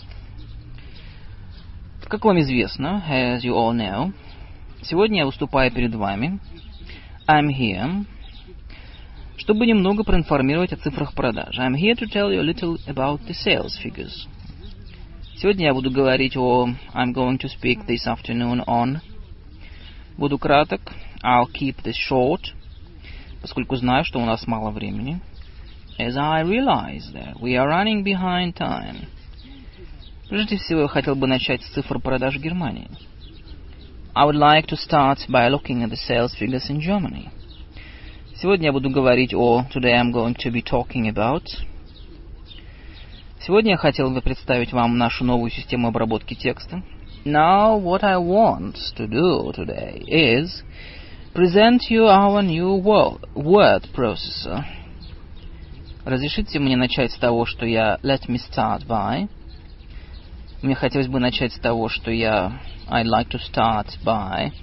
Как вам известно, as you all know, сегодня я выступаю перед вами. I'm here, чтобы немного проинформировать о цифрах продаж. I'm here to tell you a little about the sales figures. Сегодня я буду говорить I'm going to speak this afternoon on. Буду краток. I'll keep this short, поскольку знаю, что у нас мало времени. As I realize that we are running behind time. Прежде всего, я хотел бы начать с цифр продаж в Германии. I would like to start by looking at the sales figures in Germany. Сегодня я буду говорить Today I'm going to be talking about. Сегодня я хотел бы представить вам нашу новую систему обработки текста. Now, what I want to do today is present you our new word processor. Разрешите мне начать с того, что let me start by. Мне хотелось бы начать с того, что I'd like to start by.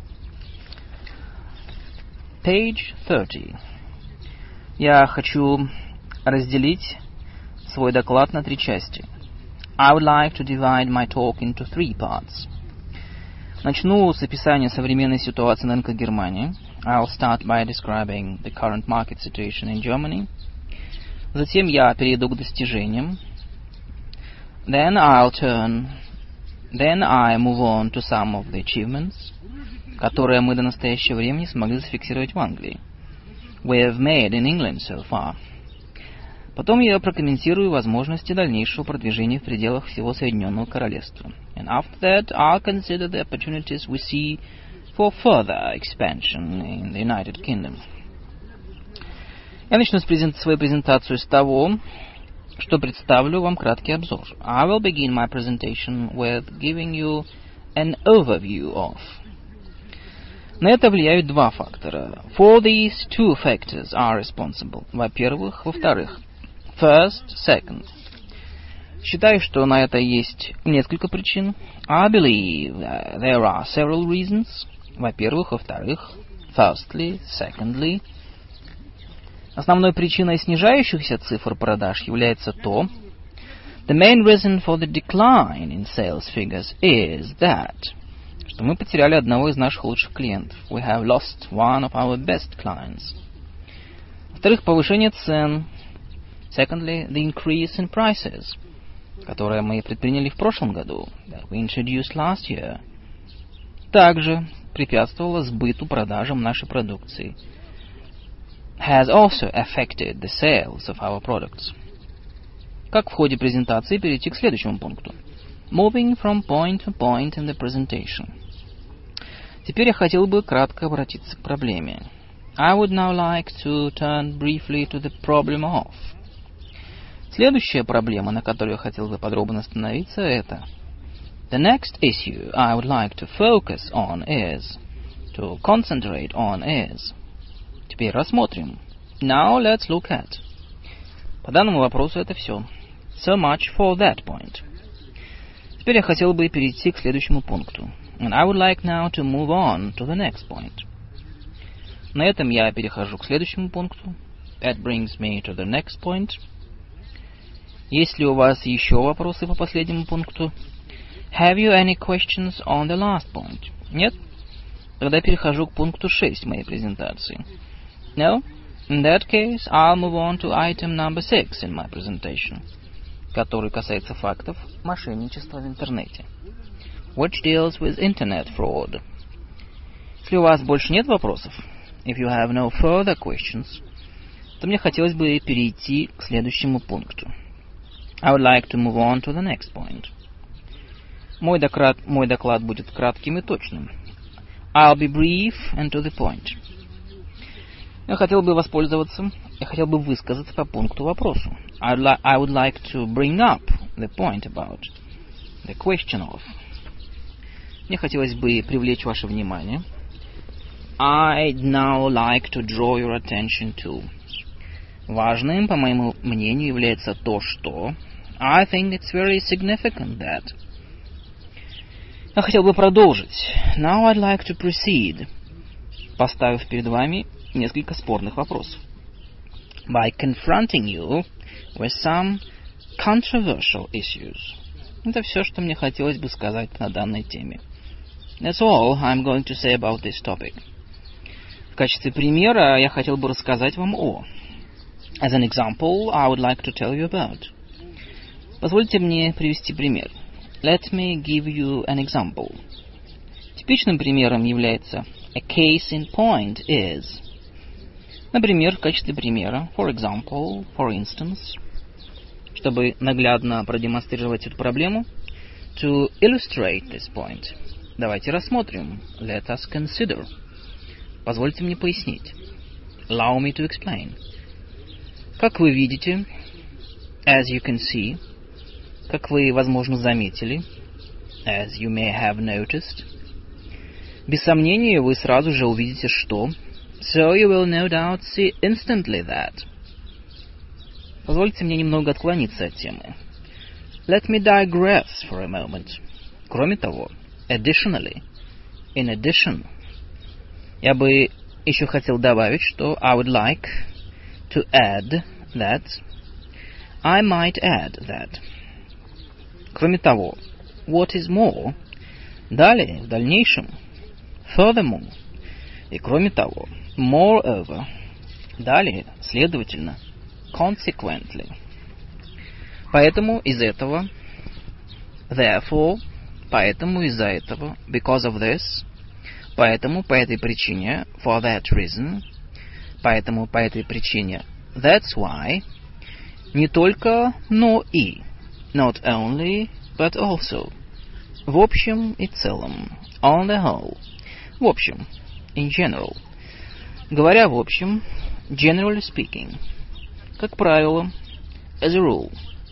Page 30. Я хочу разделить свой доклад на 3 части. I would like to divide my talk into 3 parts. Начну с описания современной ситуации на рынках Германии. I'll start by describing the current market situation in Germany. Затем я перейду к достижениям. Then I move on to some of the achievements, которые мы до настоящего времени смогли зафиксировать в Англии. We have made in England so far. Потом я прокомментирую возможности дальнейшего продвижения в пределах всего Соединенного Королевства. And after that, I'll consider the opportunities we see for further expansion in the United Kingdom. Я начну свою презентацию с того, что представлю вам краткий обзор. I will begin my presentation with giving you an overview of. На это влияют 2 фактора. For these 2 factors are responsible. Во-первых. First, second. Считаю, что на это есть несколько причин. I believe there are several reasons. Во-первых. Во-вторых. Firstly, secondly. Основной причиной снижающихся цифр продаж является то, the main reason for the decline in sales figures is that, что мы потеряли одного из наших лучших клиентов. We have lost one of our best clients. Во-вторых, повышение цен. Secondly, the increase in prices, которое мы предприняли в прошлом году, that we introduced last year, также препятствовало сбыту продажам нашей продукции. Has also affected the sales of our products. Как в ходе презентации перейти к следующему пункту? Moving from point to point in the presentation. Теперь я хотел бы кратко обратиться к проблеме. I would now like to turn briefly to the problem of. Следующая проблема, на которой я хотел бы подробно остановиться, это The next issue I would like to focus on is, to concentrate on is. Теперь рассмотрим. Now let's look at. По данному вопросу это все. So much for that point. Теперь я хотел бы перейти к следующему пункту. And I would like now to move on to the next point. На этом я перехожу к следующему пункту. That brings me to the next point. Есть ли у вас еще вопросы по последнему пункту? Have you any questions on the last point? Нет? Тогда перехожу к пункту 6 моей презентации. No? In that case, I'll move on to item number 6 in my presentation, который касается фактов мошенничества в интернете. Which deals with internet fraud. Если у вас больше нет вопросов, if you have no further questions, то мне хотелось бы перейти к следующему пункту. I would like to move on to the next point. Мой доклад будет кратким и точным. I'll be brief and to the point. Я хотел бы высказаться по пункту вопросу. I would like to bring up the point about, the question of. Мне хотелось бы привлечь ваше внимание. I'd now like to draw your attention to. Важным, по моему мнению, является то, что. I think it's very significant that. Я хотел бы продолжить. Now I'd like to proceed, поставив перед вами несколько спорных вопросов. By confronting you with some controversial issues. Это все, что мне хотелось бы сказать на данной теме. That's all I'm going to say about this topic. В качестве примера я хотел бы рассказать вам о. As an example, I would like to tell you about. Позвольте мне привести пример. Let me give you an example. Типичным примером является a case in point is. Например, в качестве примера, for example, for instance, чтобы наглядно продемонстрировать эту проблему, to illustrate this point. Давайте рассмотрим. Let us consider. Позвольте мне пояснить. Allow me to explain. Как вы видите, as you can see, как вы, возможно, заметили, as you may have noticed, без сомнения, вы сразу же увидите, что, so you will no doubt see instantly that. Позвольте мне немного отклониться от темы. Let me digress for a moment. Кроме того, additionally, in addition, я бы еще хотел добавить, что I would like to add that, I might add that. Кроме того, what is more, далее, в дальнейшем, furthermore, и кроме того, moreover, далее, следовательно, consequently. Поэтому из этого, therefore, поэтому из-за этого, because of this, поэтому по этой причине, for that reason, поэтому по этой причине, that's why, не только, но и, not only, but also, в общем и целом, on the whole, в общем, in general. Говоря в общем, generally speaking, как правило, as a rule.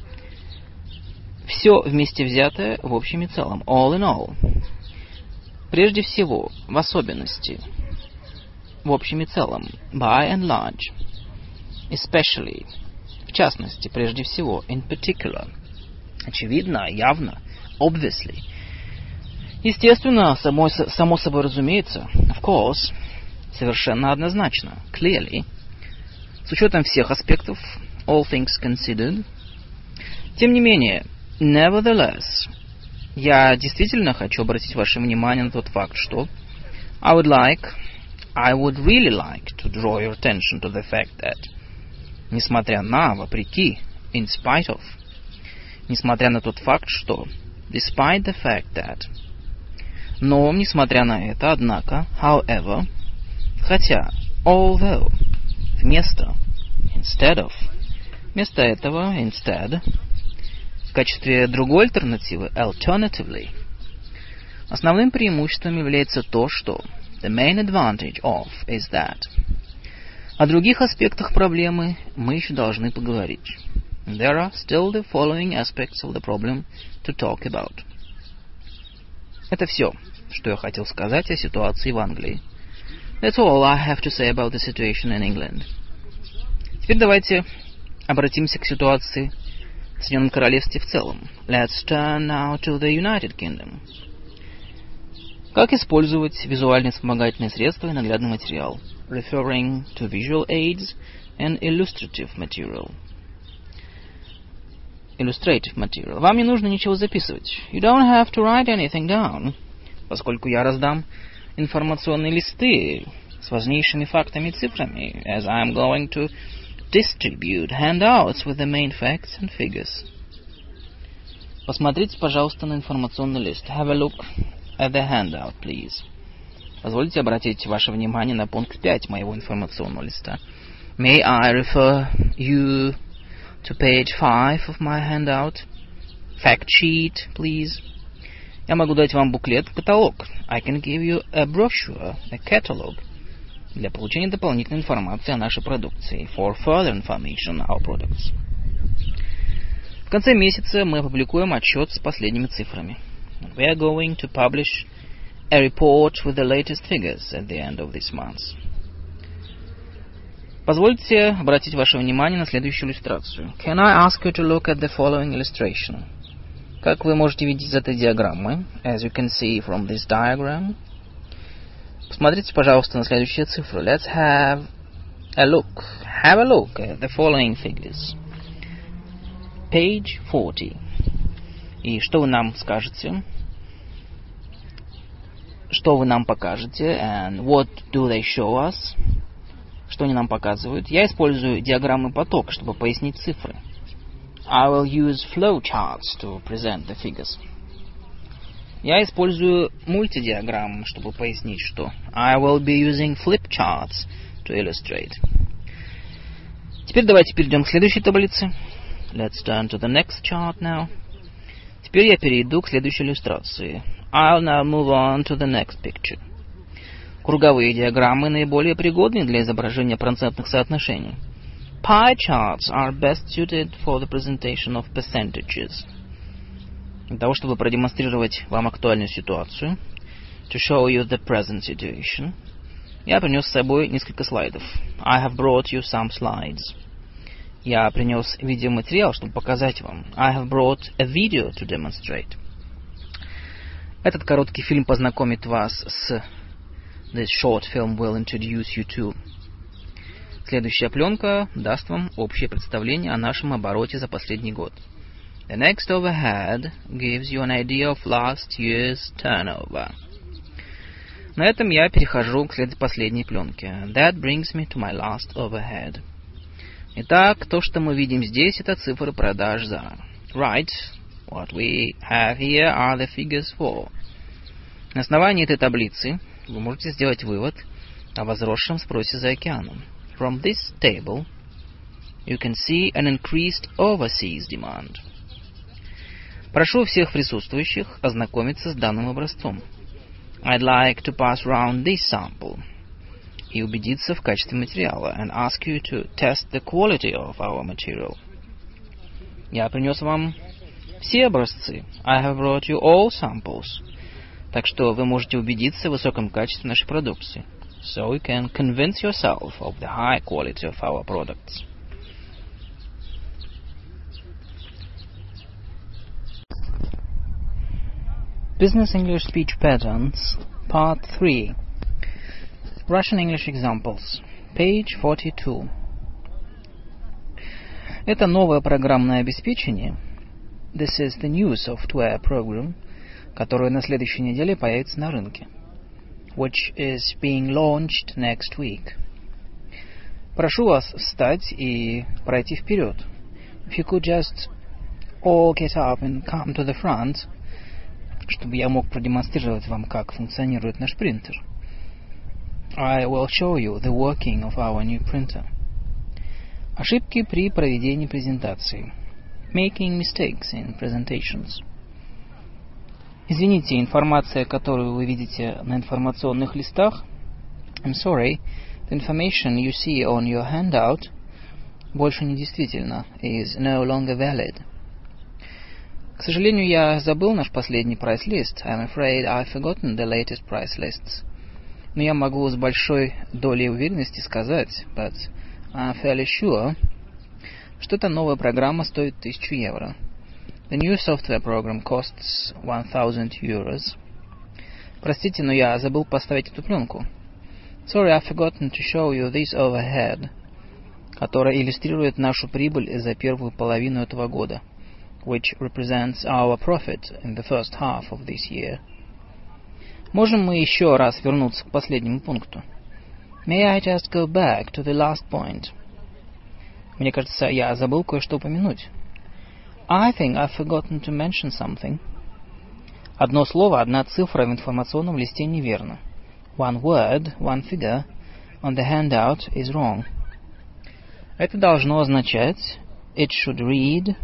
Все вместе взятое в общем и целом, all in all. Прежде всего, в особенности, в общем и целом, by and large. Especially, в частности, прежде всего, in particular. Очевидно, явно, obviously. Естественно, само собой разумеется, of course, совершенно однозначно, clearly, с учетом всех аспектов, all things considered. Тем не менее, nevertheless, я действительно хочу обратить ваше внимание на тот факт, что I would really like to draw your attention to the fact that, несмотря на, вопреки, in spite of, несмотря на тот факт, что, despite the fact that, но, несмотря на это, однако, however, хотя, although, вместо, instead of, вместо этого, instead, в качестве другой альтернативы, alternatively, основным преимуществом является то, что, the main advantage of is that. О других аспектах проблемы мы еще должны поговорить. There are still the following aspects of the problem to talk about. Это все, что я хотел сказать о ситуации в Англии. That's all I have to say about the situation in England. Теперь давайте обратимся к ситуации в Соединенном Королевстве в целом. Let's turn now to the United Kingdom. Как использовать визуальные вспомогательные средства и наглядный материал? Referring to visual aids and illustrative material. Illustrative material. Вам не нужно ничего записывать. You don't have to write anything down. Поскольку я раздам информационные листы с важнейшими фактами и цифрами, as I am going to distribute handouts with the main facts and figures. Посмотрите, пожалуйста, на информационный лист. Have a look at the handout, please. Позвольте обратить ваше внимание на пункт 5 моего информационного листа. May I refer you to page 5 of my handout? Fact sheet, please. Я могу дать вам буклет, каталог. I can give you a brochure, a catalog. Для получения дополнительной информации о нашей продукции. For further information on our products. В конце месяца мы опубликуем отчет с последними цифрами. We are going to publish a report with the latest figures at the end of this month. Позвольте обратить ваше внимание на следующую иллюстрацию. Can I ask you to look at the following illustration? Как вы можете видеть из этой диаграммы, as you can see from this diagram, посмотрите, пожалуйста, на следующие цифры. Let's have a look. Have a look at the following figures. Page 40. И что вы нам скажете? Что вы нам покажете? And what do they show us? Что они нам показывают? Я использую диаграммы поток, чтобы пояснить цифры. I will use flowcharts to present the figures. Я использую мультидиаграммы, чтобы пояснить, что. I will be using flipcharts to illustrate. Теперь давайте перейдем к следующей таблице. Let's turn to the next chart now. Теперь я перейду к следующей иллюстрации. I'll now move on to the next picture. Круговые диаграммы наиболее пригодны для изображения процентных соотношений. Pie charts are best suited for the presentation of percentages. Для того, чтобы продемонстрировать вам актуальную ситуацию, to show you the present situation, я принес с собой несколько слайдов. I have brought you some slides. Я принес видеоматериал, чтобы показать вам. I have brought a video to demonstrate. Этот короткий фильм познакомит вас с... This short film will introduce you to... Следующая пленка даст вам общее представление о нашем обороте за последний год. The next overhead gives you an idea of last year's turnover. На этом я перехожу к последней пленке. That brings me to my last overhead. Итак, то, что мы видим здесь, это цифры продаж за. Right, what we have here are the figures for. На основании этой таблицы вы можете сделать вывод о возросшем спросе за океаном. From this table, you can see an increased overseas demand. Прошу всех присутствующих ознакомиться с данным образцом. I'd like to pass round this sample и убедиться в качестве материала and ask you to test the quality of our material. Я принес вам все образцы. I have brought you all samples. Так что вы можете убедиться в высоком качестве нашей продукции. So you can convince yourself of the high quality of our products. Business English Speech Patterns, Part 3. Russian English Examples, Page 42. Это новое программное обеспечение. This is the new software program, которое на следующей неделе появится на рынке. Which is being launched next week. Прошу вас встать и пройти вперед. If you could just all get up and come to the front, чтобы я мог продемонстрировать вам, как функционирует наш принтер. I will show you the working of our new printer. Ошибки при проведении презентации. Making mistakes in presentations. Извините, информация, которую вы видите на информационных листах, I'm sorry, the information you see on your handout больше не действительна, is no longer valid. К сожалению, я забыл наш последний price list. I'm afraid I've forgotten the latest price lists. Но я могу с большой долей уверенности сказать, but I'm fairly sure, что эта новая программа стоит 1000 евро. The new software program costs 1000 euros. Простите, но я забыл поставить эту пленку. Sorry, I've forgotten to show you this overhead, которая иллюстрирует нашу прибыль за первую половину этого года, which represents our profit in the first half of this year. Можем мы еще раз вернуться к последнему пункту? May I just go back to the last point? Мне кажется, я забыл кое-что упомянуть. I think I've forgotten to mention something. Одно слово, одна цифра в информационном листе неверно. One word, one figure on the handout is wrong. Это должно означать it should read.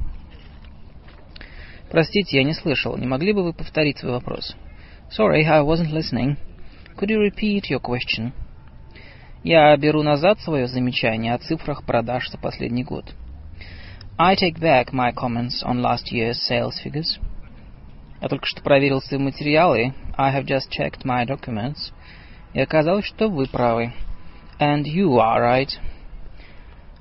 Простите, я не слышал. Не могли бы вы повторить свой вопрос? Sorry, I wasn't listening. Could you repeat your question? Я беру назад свое замечание о цифрах продаж за последний год. I take back my comments on last year's sales figures. Я только что проверил свои материалы. I have just checked my documents. И оказалось, что вы правы. And you are right.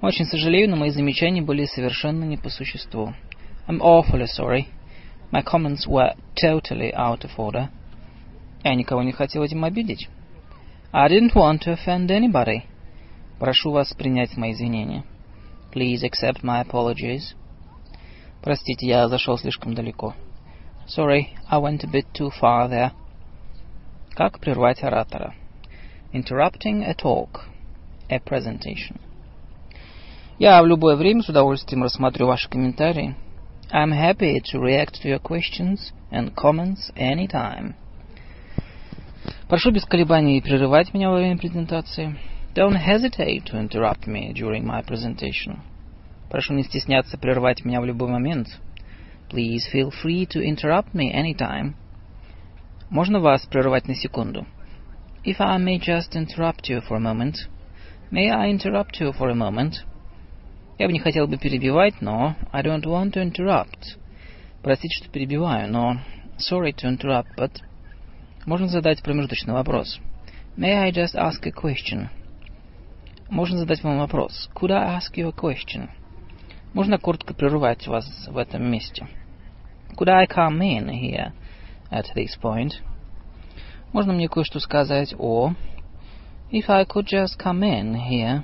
Очень сожалею, но мои замечания были совершенно не по существу. I'm awfully sorry. My comments were totally out of order. Я никого не хотел этим обидеть. I didn't want to offend anybody. Прошу вас принять мои извинения. Please accept my apologies. Простите, я зашел слишком далеко. Sorry, I went a bit too far there. Как прервать оратора? Interrupting a talk. A presentation. Я в любое время с удовольствием рассмотрю ваши комментарии. I'm happy to react to your questions and comments anytime. Прошу без колебаний прерывать меня во время презентации. Don't hesitate to interrupt me during my presentation. Прошу не стесняться прервать меня в любой момент. Please feel free to interrupt me anytime. Можно вас прервать на секунду? If I may just interrupt you for a moment. May I interrupt you for a moment? Я бы не хотел бы перебивать, но I don't want to interrupt. Простите, что перебиваю, но sorry to interrupt, but... Можно задать промежуточный вопрос. May I just ask a question? Можно задать вам вопрос. Could I ask you a question? Можно коротко прервать вас в этом месте. Could I come in here at this point? Можно мне кое-что сказать о... If I could just come in here...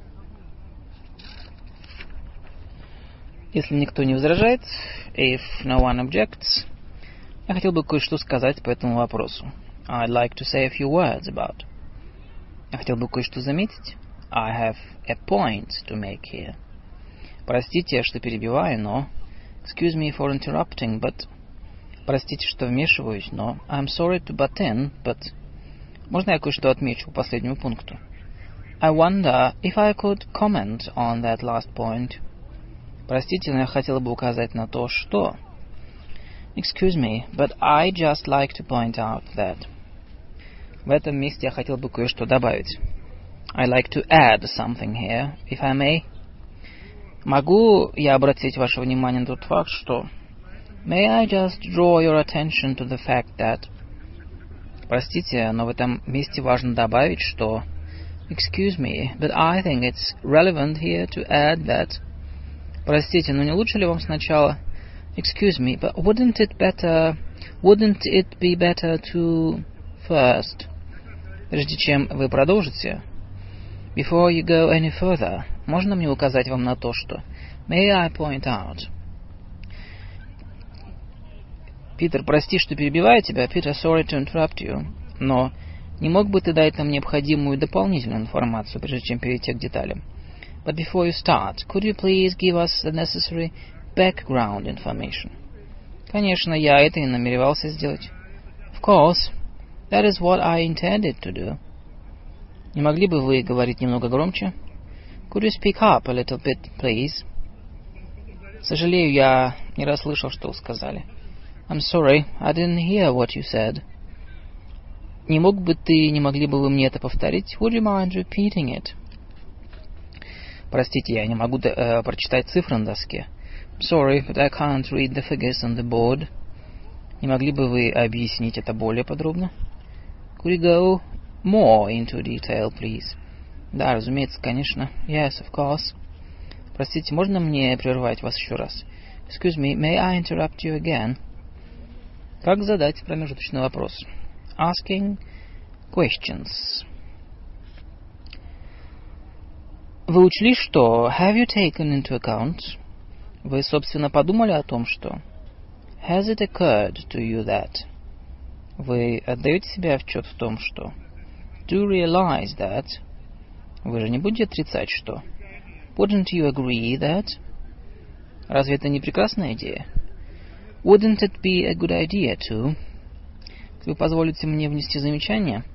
Если никто не возражает, if no one objects, я хотел бы кое-что сказать по этому вопросу. I'd like to say a few words about. Я хотел бы кое-что заметить. I have a point to make here. Простите, что перебиваю, но... Excuse me for interrupting, but... Простите, что вмешиваюсь, но... I'm sorry to butt in, but... Можно я кое-что отмечу по последнему пункту? I wonder if I could comment on that last point. Простите, но я хотела бы указать на то, что... Excuse me, but I just like to point out that... В этом месте я хотел бы кое-что добавить. I'd like to add something here, if I may. Могу я обратить ваше внимание на тот факт, что... May I just draw your attention to the fact that... Простите, но в этом месте важно добавить, что... Excuse me, but I think it's relevant here to add that... Простите, но не лучше ли вам сначала... Excuse me, but wouldn't it be better to first... Прежде чем вы продолжите... Before you go any further, можно мне указать вам на то, что... May I point out... Питер, прости, что перебиваю тебя. Peter, sorry to interrupt you. Но не мог бы ты дать нам необходимую дополнительную информацию, прежде чем перейти к деталям? But before you start, could you please give us the necessary background information? Конечно, я это и намеревался сделать. Of course, that is what I intended to do. Не могли бы вы говорить немного громче? Could you speak up a little bit, please? Сожалею, я не расслышал, что вы сказали. I'm sorry, I didn't hear what you said. Не могли бы вы мне это повторить? Would you mind repeating it? Простите, я не могу прочитать цифры на доске. Sorry, but I can't read the figures on the board. Не могли бы вы объяснить это более подробно? Could you go more into detail, please? Да, разумеется, конечно. Yes, of course. Простите, можно мне прервать вас еще раз? Excuse me, may I interrupt you again? Как задать промежуточный вопрос? Asking questions. Вы учли, что have you taken into account? Вы, собственно, подумали о том, что has it occurred to you that? Вы отдаете себе отчет в том, что do you realize that? Вы же не будете отрицать, что wouldn't you agree that? Разве это не прекрасная идея? Wouldn't it be a good idea too? Вы позволите мне внести замечание?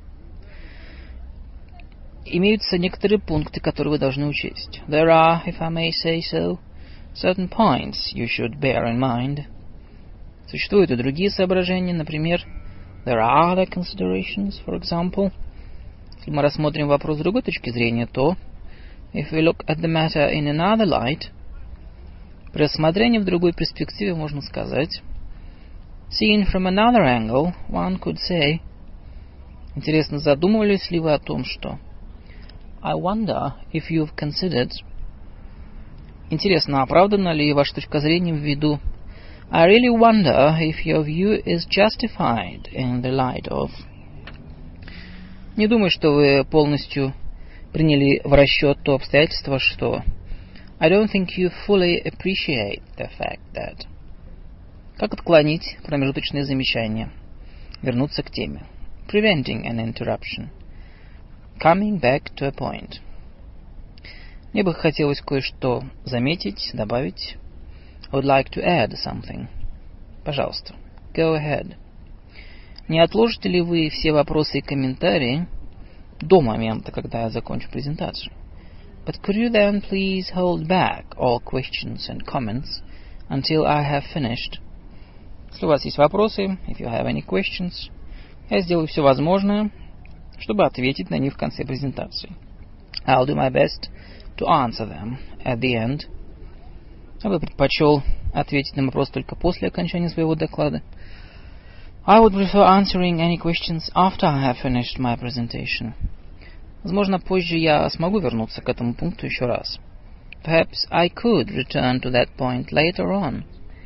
Имеются некоторые пункты, которые вы должны учесть. There are, if I may say so, certain points you should bear in mind. Существуют и другие соображения, например, there are other considerations, for example. Если мы рассмотрим вопрос с другой точки зрения, то if we look at the matter in another light, при рассмотрении в другой перспективе можно сказать seen from another angle, one could say. Интересно, задумывались ли вы о том, что I wonder if you've considered. Интересно, оправдана ли ваша точка зрения в виду I really wonder if your view is justified in the light of... Не думаю, что вы полностью приняли в расчет то обстоятельство, что I don't think you fully appreciate the fact that... Как отклонить промежуточные замечания? Вернуться к теме. Preventing an interruption. Coming back to a point. Мне бы хотелось кое-что заметить, добавить. I would like to add something. Пожалуйста. Go ahead. Не отложите ли вы все вопросы и комментарии до момента, когда я закончу презентацию? But could you then please hold back all questions and comments until I have finished? Если у вас есть вопросы, if you have any questions, я сделаю все возможное, чтобы ответить на них в конце презентации. I'll do my best to answer them at the end. Я бы предпочел ответить на вопрос только после окончания своего доклада. I would prefer answering any questions after I have finished my presentation. Возможно, позже я смогу вернуться к этому пункту еще раз. Perhaps I could return to that point later on.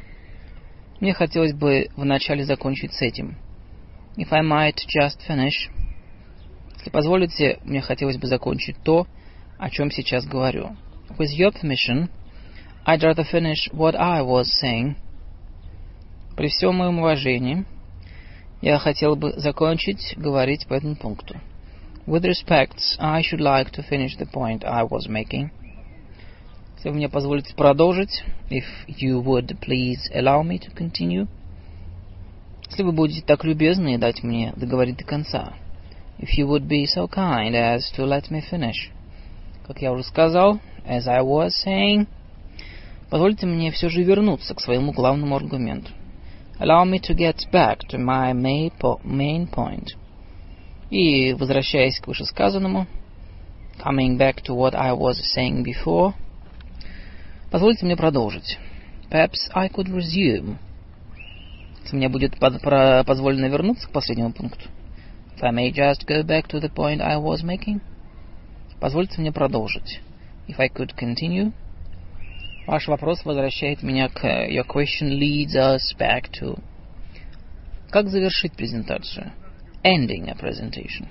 Мне хотелось бы вначале закончить с этим. If I might just finish. Если позволите, мне хотелось бы закончить то, о чем сейчас говорю. With your permission, I'd rather finish what I was saying. При всем моем уважении, я хотел бы закончить говорить по этому пункту. With respect, I should like to finish the point I was making. Если вы мне позволите продолжить, if you would please allow me to continue. Если вы будете так любезны дать мне договорить до конца. If you would be so kind as to let me finish. Как я уже сказал, as I was saying, позвольте мне все же вернуться к своему главному аргументу. Allow me to get back to my main point. И, возвращаясь к вышесказанному, coming back to what I was saying before, позвольте мне продолжить. Perhaps I could resume. Если мне будет позволено вернуться к последнему пункту. If I may just go back to the point I was making. Позвольте мне продолжить. If I could continue. Ваш вопрос возвращает меня к... Your question leads us back to... Как завершить презентацию? Ending a presentation.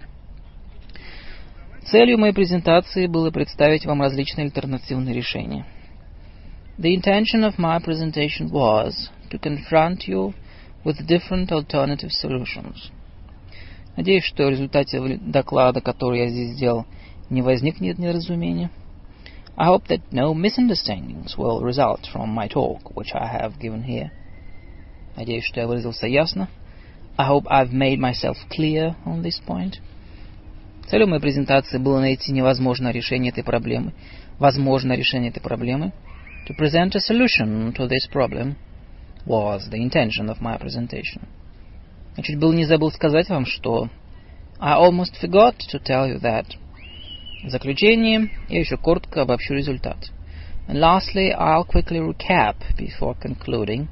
Целью моей презентации было представить вам различные альтернативные решения. The intention of my presentation was to confront you with different alternative solutions. Надеюсь, что в результате доклада, который я здесь сделал, не возникнет недоразумения. I hope that no misunderstandings will result from my talk, which I have given here. Надеюсь, что я выразился ясно. I hope I've made myself clear on this point. Целью моей презентации было найти невозможное решение этой проблемы. Возможное решение этой проблемы. To present a solution to this problem was the intention of my presentation. Я чуть было не забыл сказать вам, что I almost forgot to tell you that. В заключение я еще коротко обобщу результат. And lastly, I'll quickly recap before concluding.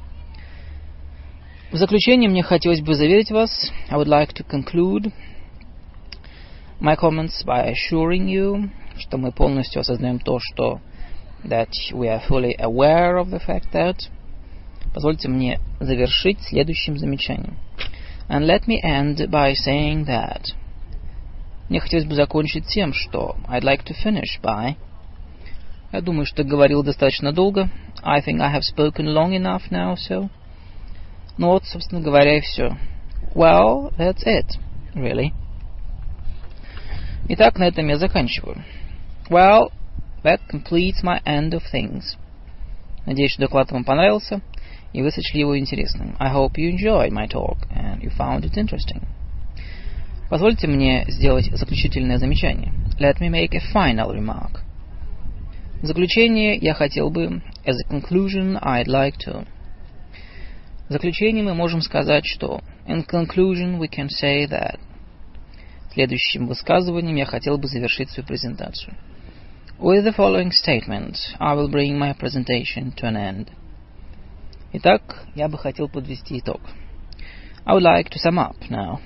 В заключение мне хотелось бы заверить вас, I would like to conclude my comments by assuring you, что мы полностью осознаем то, что that we are fully aware of the fact that. Позвольте мне завершить следующим замечанием. And let me end by saying that. Мне хотелось бы закончить тем, что I'd like to finish by. Я думаю, что говорил достаточно долго. I think I have spoken long enough now, so. Ну вот, собственно говоря, и все. Well, that's it, really. Итак, на этом я заканчиваю. Well, that completes my end of things. Надеюсь, что доклад вам понравился, и вы сочли его интересным. I hope you enjoyed my talk, and you found it interesting. Позвольте мне сделать заключительное замечание. Let me make a final remark. В заключение я хотел бы, as a conclusion, I'd like to. В заключение мы можем сказать, что in conclusion we can say that. Следующим высказыванием я хотел бы завершить свою презентацию. With the following statement, I will bring my presentation to an end. Итак, я бы хотел подвести итог. I would like to sum up now.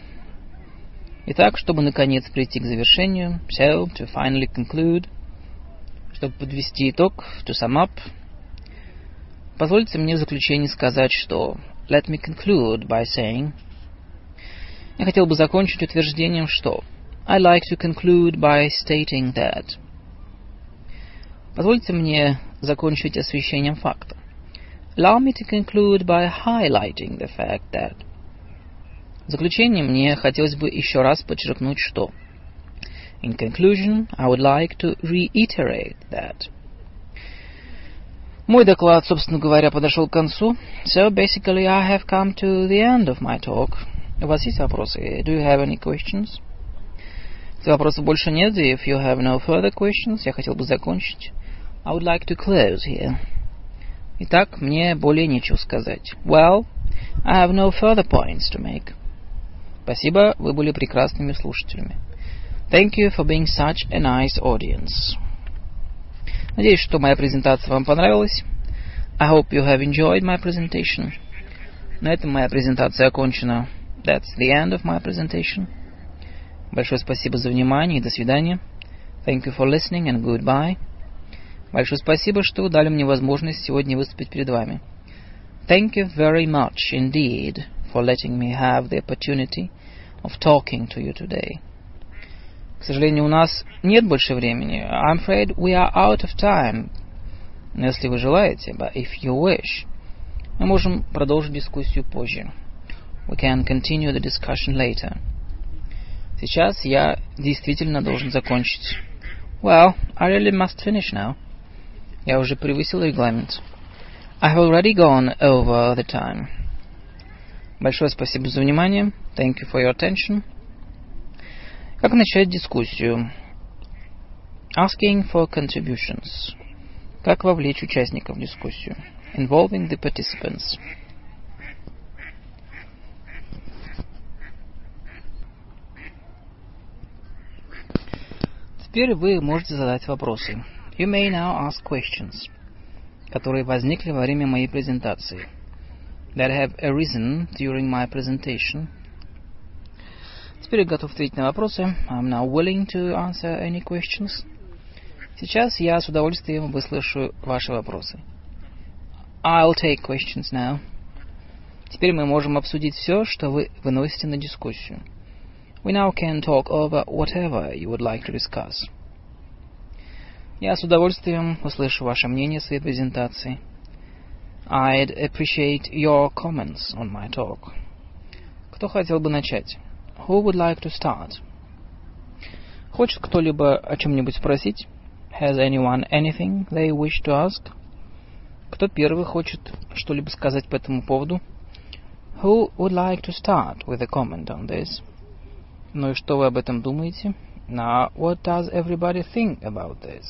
Итак, чтобы наконец прийти к завершению, so, to finally conclude, Чтобы подвести итог, to sum up, позвольте мне в заключение сказать, что let me conclude by saying, я хотел бы закончить утверждением, что I'd like to conclude by stating that. Позвольте мне закончить освещением факта. Allow me to conclude by highlighting the fact that. В заключение мне хотелось бы еще раз подчеркнуть, что In conclusion, I would like to reiterate that. Мой доклад, собственно говоря, подошел к концу. So basically, I have come to the end of my talk. У вас есть вопросы? Do you have any questions? Если вопросов больше нет, if you have no further questions, я хотел бы закончить. I would like to close here. Итак, мне более нечего сказать. Well, I have no further points to make. Спасибо, вы были прекрасными слушателями. Thank you for being such a nice audience. Надеюсь, что моя презентация вам понравилась. I hope you have enjoyed my presentation. На этом моя презентация окончена. That's the end of my presentation. Большое спасибо за внимание и до свидания. Thank you for listening and goodbye. Большое спасибо, что дали мне возможность сегодня выступить перед вами. Thank you very much indeed for letting me have the opportunity of talking to you today. К сожалению, у нас нет больше времени. I'm afraid we are out of time. Но если вы желаете, but if you wish, мы можем продолжить дискуссию позже. We can continue the discussion later. Сейчас я действительно должен закончить. Well, I really must finish now. Я уже превысил регламент. I have already gone over the time. Большое спасибо за внимание. Thank you for your attention. Как начать дискуссию? Asking for contributions. Как вовлечь участников в дискуссию? Involving the participants. Теперь вы можете задать вопросы. You may now ask questions, которые возникли во время моей презентации. That have arisen during my presentation. Теперь я готов ответить на вопросы. I'm now willing to answer any questions. Сейчас я с удовольствием выслушаю ваши вопросы. I'll take questions now. Теперь мы можем обсудить все, что вы выносите на дискуссию. We now can talk over whatever you would like to discuss. Я с удовольствием услышу ваше мнение о своей презентации. I'd appreciate your comments on my talk. Кто хотел бы начать? Who would like to start? Хочет кто-либо о чем-нибудь спросить? Has anyone anything they wish to ask? Кто первый хочет что-либо сказать по этому поводу? Who would like to start with a comment on this? Ну и что вы об этом думаете? Now, what does everybody think about this?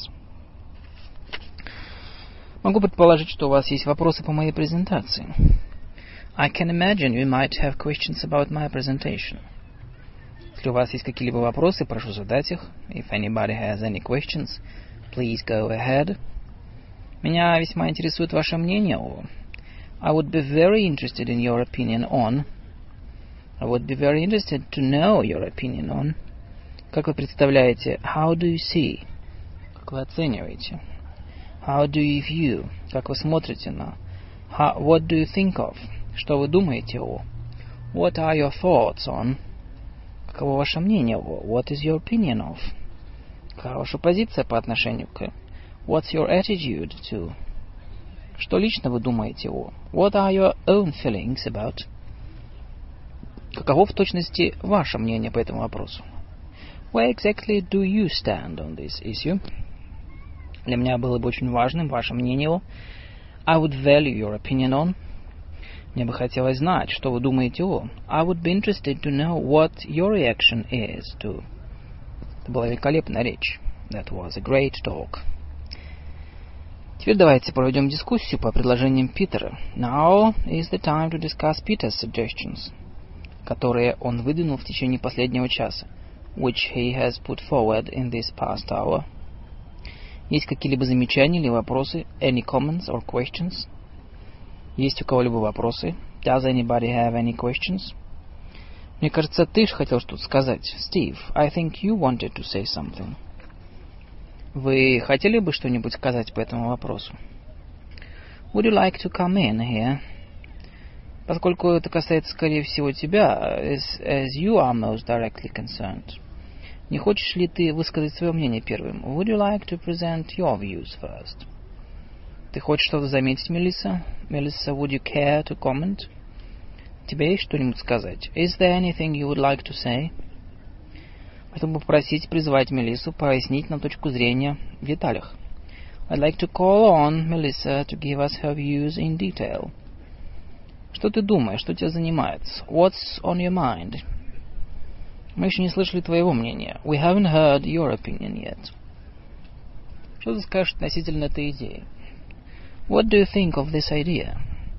Могу предположить, что у вас есть вопросы по моей презентации. I can imagine you might have questions about my presentation. Если у вас есть какие-либо вопросы, прошу задать их. If anybody has any questions, please go ahead. Меня весьма интересует ваше мнение о... I would be very interested in your opinion on... I would be very interested to know your opinion on... Как вы представляете? How do you see? Как вы оцениваете? How do you view? Как вы смотрите на? What do you think of? Что вы думаете о? What are your thoughts on? Каково ваше мнение о? What is your opinion of? Какова ваша позиция по отношению к? What's your attitude to? Что лично вы думаете о? What are your own feelings about? Каково в точности ваше мнение по этому вопросу? Where exactly do you stand on this issue? Для меня было бы очень важным ваше мнение о. I would value your opinion on. Мне бы хотелось знать, что вы думаете о. I would be interested to know what your reaction is to. Это была великолепная речь. That was a great talk. Теперь давайте проведем дискуссию по предложениям Питера. Now is the time to discuss Peter's suggestions, которые он выдвинул в течение последнего часа, which he has put forward in this past hour. Есть какие-либо замечания или вопросы? Any comments or questions? Есть у кого-либо вопросы? Does anybody have any questions? Мне кажется, ты же хотел что-то сказать. Steve, I think you wanted to say something. Вы хотели бы что-нибудь сказать по этому вопросу? Would you like to come in here? Поскольку это касается, скорее всего, тебя, as you are most directly concerned. Не хочешь ли ты высказать свое мнение первым? Would you like to present your views first? Ты хочешь что-то заметить, Мелисса? Melissa, would you care to comment? Тебе есть что-нибудь сказать? Is there anything you would like to say? Хотел бы попросить, призвать Мелиссу пояснить нам точку зрения в деталях. I'd like to call on Melissa to give us her views in detail. Что ты думаешь? Что тебя занимает? What's on your mind? Мы еще не слышали твоего мнения. We haven't heard your opinion yet. Что ты скажешь относительно этой идеи? What do you think of this idea?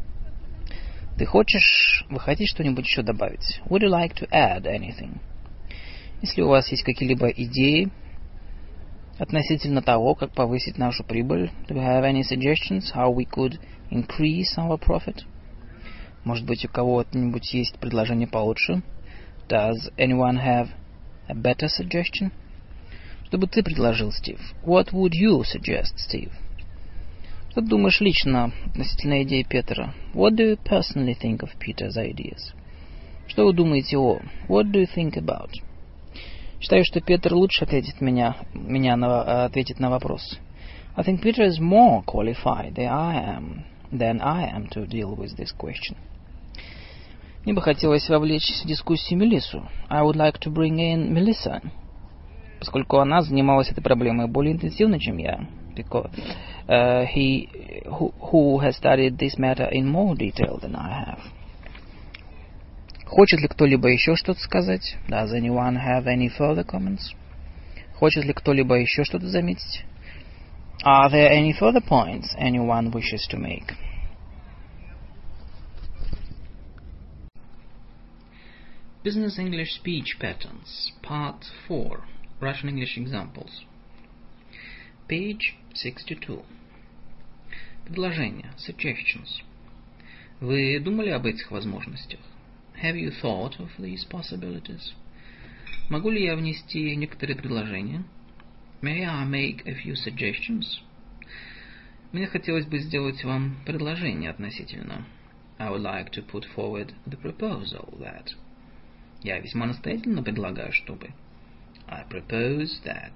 Вы хотите что-нибудь еще добавить? Would you like to add anything? Если у вас есть какие-либо идеи относительно того, как повысить нашу прибыль, do you have any suggestions how we could increase our profit? Может быть, у кого-нибудь есть предложение получше? Does anyone have a better suggestion? Что бы ты предложил, Стив? What would you suggest, Steve? Что ты думаешь лично относительно идеи Петера? What do you personally think of Peter's ideas? Что вы думаете о? What do you think about? Считаю, что Петр лучше ответит на вопрос. I think Peter is more qualified than I am to deal with this question. Мне бы хотелось вовлечь в дискуссию Мелиссу. I would like to bring in Melissa, поскольку она занималась этой проблемой более интенсивно, чем я. Because who has studied this matter in more detail than I have. Хочет ли кто-либо еще что-то сказать? Does anyone have any further comments? Хочет ли кто-либо еще что-то заметить? Are there any further points anyone wishes to make? Business English Speech Patterns, Part 4, Russian English Examples. Page 62. Предложение, suggestions. Вы думали об этих возможностях? Have you thought of these possibilities? Могу ли я внести некоторые предложения? May I make a few suggestions? Мне хотелось бы сделать вам предложение относительно. I would like to put forward the proposal that. Я весьма настоятельно предлагаю, чтобы. I propose that.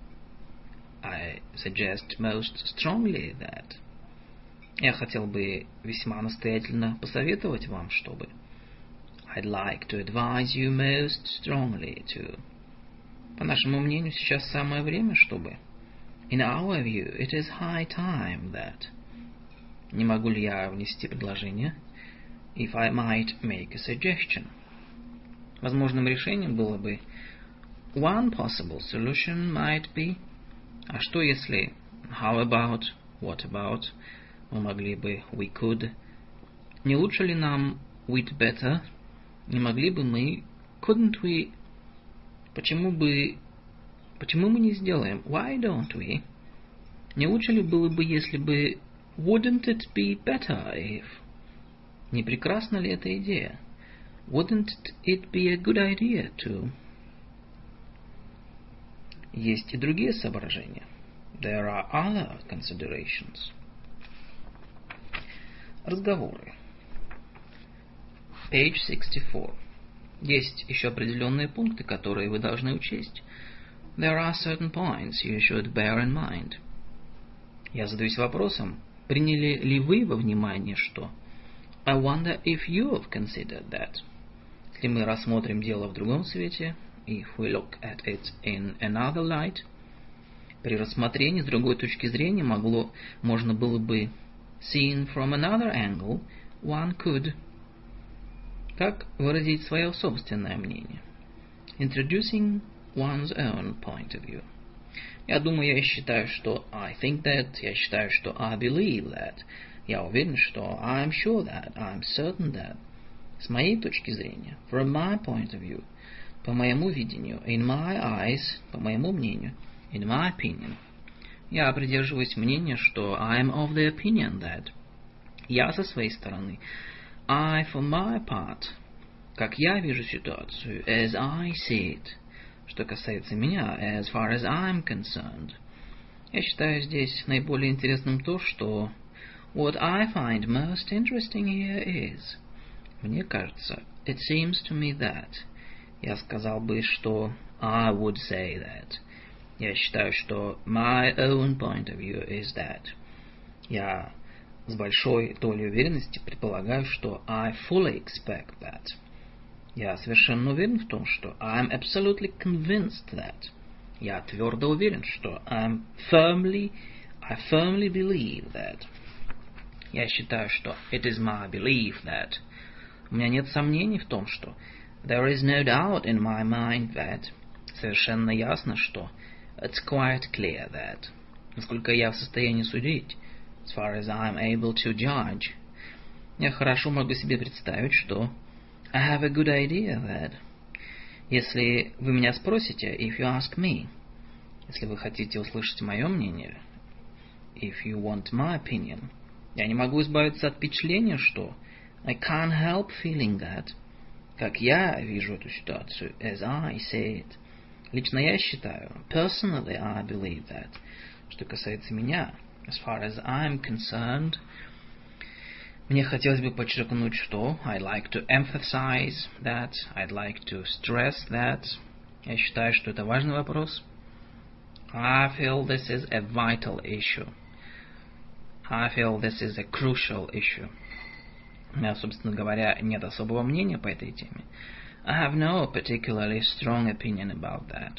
I suggest most strongly that. Я хотел бы весьма настоятельно посоветовать вам, чтобы. I'd like to advise you most strongly to. По нашему мнению, сейчас самое время, чтобы. In our view, it is high time that. Не могу ли я внести предложение? If I might make a suggestion. Возможным решением было бы one possible solution might be. А что если how about, what about? Мы могли бы we could. Не лучше ли нам we'd better? Не могли бы мы couldn't we? Почему мы не сделаем why don't we? Не лучше ли было бы, если бы wouldn't it be better if? Не прекрасна ли эта идея? Wouldn't it be a good idea to? Есть и другие соображения. There are other considerations. Разговоры. Page 64. Есть еще определенные пункты, которые вы должны учесть. There are certain points you should bear in mind. Я задаюсь вопросом, приняли ли вы во внимание что? I wonder if you have considered that. Если мы рассмотрим дело в другом свете, if we look at it in another light, при рассмотрении с другой точки зрения можно было бы seen from another angle, one could. Как выразить свое собственное мнение? Introducing one's own point of view. Я думаю, я считаю, что I think that, я считаю, что I believe that, я уверен, что I'm sure that, I'm certain that. С моей точки зрения, from my point of view, по моему видению, in my eyes, по моему мнению, in my opinion. Я придерживаюсь мнения, что I'm of the opinion that. Я со своей стороны, I for my part, как я вижу ситуацию, as I see it. Что касается меня, as far as I'm concerned. Я считаю здесь наиболее интересным то, что what I find most interesting here is. Мне кажется, it seems to me that. Я сказал бы, что I would say that. Я считаю, что my own point of view is that. Я с большой долей уверенности предполагаю, что I fully expect that. Я совершенно уверен в том, что I'm absolutely convinced that. Я твердо уверен, что I firmly believe that. Я считаю, что it is my belief that. У меня нет сомнений в том, что there is no doubt in my mind that. Совершенно ясно, что it's quite clear that. Насколько я в состоянии судить, as far as I'm able to judge, я хорошо могу себе представить, что I have a good idea that. Если вы меня спросите, if you ask me, если вы хотите услышать мое мнение, if you want my opinion, я не могу избавиться от впечатления, что I can't help feeling that, как я вижу эту ситуацию, as I see it. Лично я считаю, personally I believe that, что касается меня, as far as I'm concerned, мне хотелось бы подчеркнуть, что I'd like to emphasize that, I'd like to stress that. Я считаю, что это важный вопрос. I feel this is a vital issue. I feel this is a crucial issue. У меня, собственно говоря, нет особого мнения по этой теме. I have no particularly strong opinion about that.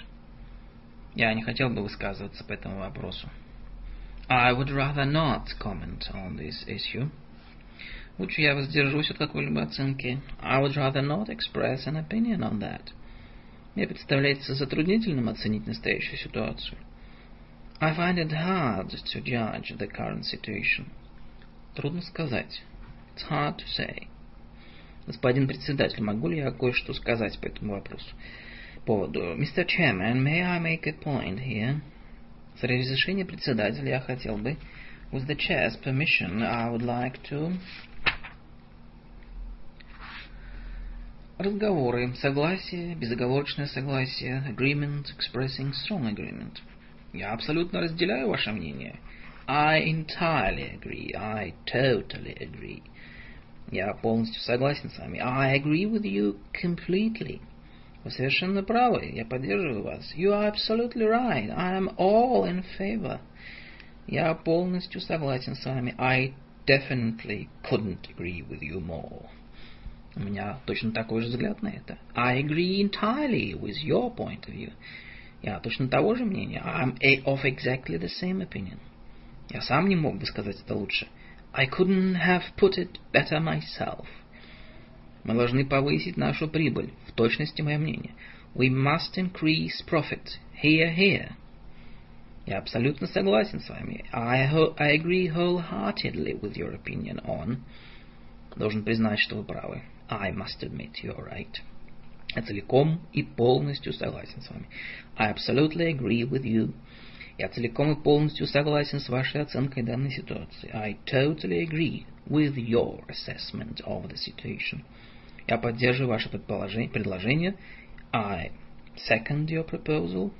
Я не хотел бы высказываться по этому вопросу. I would rather not comment on this issue. Лучше я воздержусь от какой-либо оценки. I would rather not express an opinion on that. Мне представляется затруднительным оценить настоящую ситуацию. I find it hard to judge the current situation. Трудно сказать. It's hard to say. Господин председатель, могу ли я кое-что сказать по этому вопросу? Поводу. Mr. Chairman, may I make a point here? С разрешения председателя я хотел бы, with the chair's permission, I would like to... Разговоры, согласие, безоговорочное согласие, agreement, expressing strong agreement. Я абсолютно разделяю ваше мнение. I entirely agree. I totally agree. Я полностью согласен с вами. I agree with you completely. Вы совершенно правы. Я поддерживаю вас. You are absolutely right. I am all in favor. Я полностью согласен с вами. I definitely couldn't agree with you more. У меня точно такой же взгляд на это. I agree entirely with your point of view. Я точно того же мнения. I'm of exactly the same opinion. Я сам не мог бы сказать это лучше. I couldn't have put it better myself. Мы должны повысить нашу прибыль. В точности мое мнение. We must increase profit. Here, here. Я абсолютно согласен с вами. I agree wholeheartedly with your opinion on. Должен признать, что вы правы. I must admit you're right. Я целиком и полностью согласен с вами. I absolutely agree with you. Я целиком и полностью согласен с вашей оценкой данной ситуации. I totally agree with your assessment of the situation. Я поддерживаю ваше предложение. I second your proposal.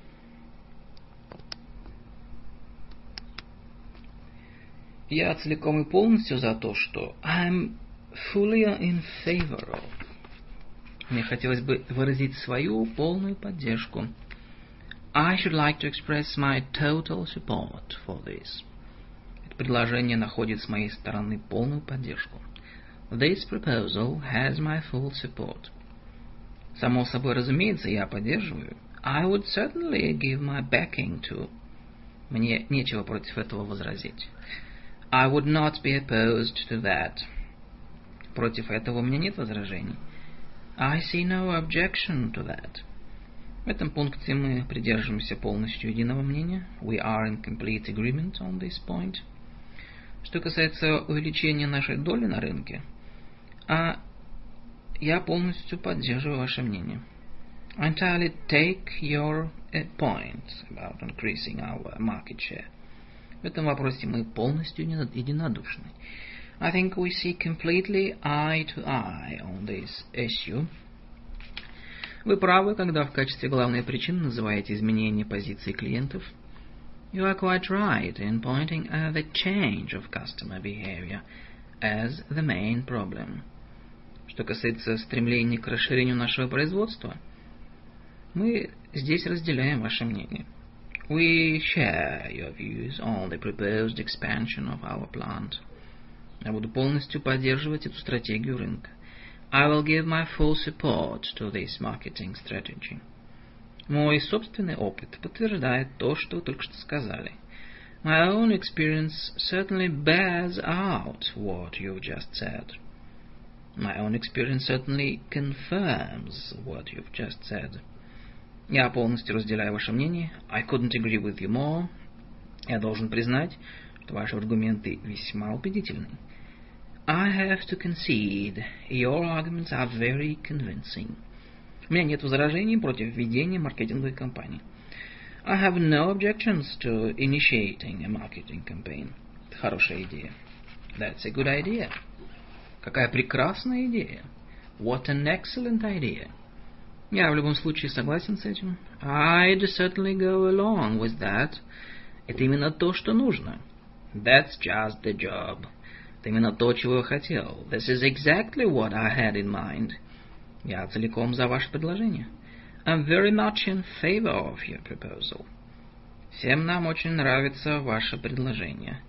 Я целиком и полностью за то, что I'm fully in favor of. Мне хотелось бы выразить свою полную поддержку. I should like to express my total support for this. Это предложение находит с моей стороны полную поддержку. This proposal has my full support. Само собой разумеется, я поддерживаю. I would certainly give my backing to. Мне нечего против этого возразить. I would not be opposed to that. Против этого у меня нет возражений. I see no objection to that. В этом пункте мы придерживаемся полностью единого мнения. We are in complete agreement on this point. Что касается увеличения нашей доли на рынке, я полностью поддерживаю ваше мнение. I entirely take your point about increasing our market share. В этом вопросе мы полностью единодушны. I think we see completely eye to eye on this issue. Вы правы, когда в качестве главной причины называете изменение позиции клиентов. You are quite right in pointing at the change of customer behavior as the main problem. Что касается стремления к расширению нашего производства, мы здесь разделяем ваше мнение. We share your views on the proposed expansion of our plant. Я буду полностью поддерживать эту стратегию рынка. I will give my full support to this marketing strategy. Мой собственный опыт подтверждает то, что вы только что сказали. My own experience certainly bears out what you've just said. My own experience certainly confirms what you've just said. Я полностью разделяю ваше мнение. I couldn't agree with you more. Я должен признать, что ваши аргументы весьма убедительны. I have to concede, your arguments are very convincing. У меня нет возражений против введения маркетинговой кампании. I have no objections to initiating a marketing campaign. Это хорошая идея. That's a good idea. Какая прекрасная идея. What an excellent idea. Я в любом случае согласен с этим. I'd certainly go along with that. Это именно то, что нужно. That's just the job. Это именно то, чего я хотел. This is exactly what I had in mind. Я целиком за ваше предложение. I'm very much in favor of your proposal. Всем нам очень нравится ваше предложение.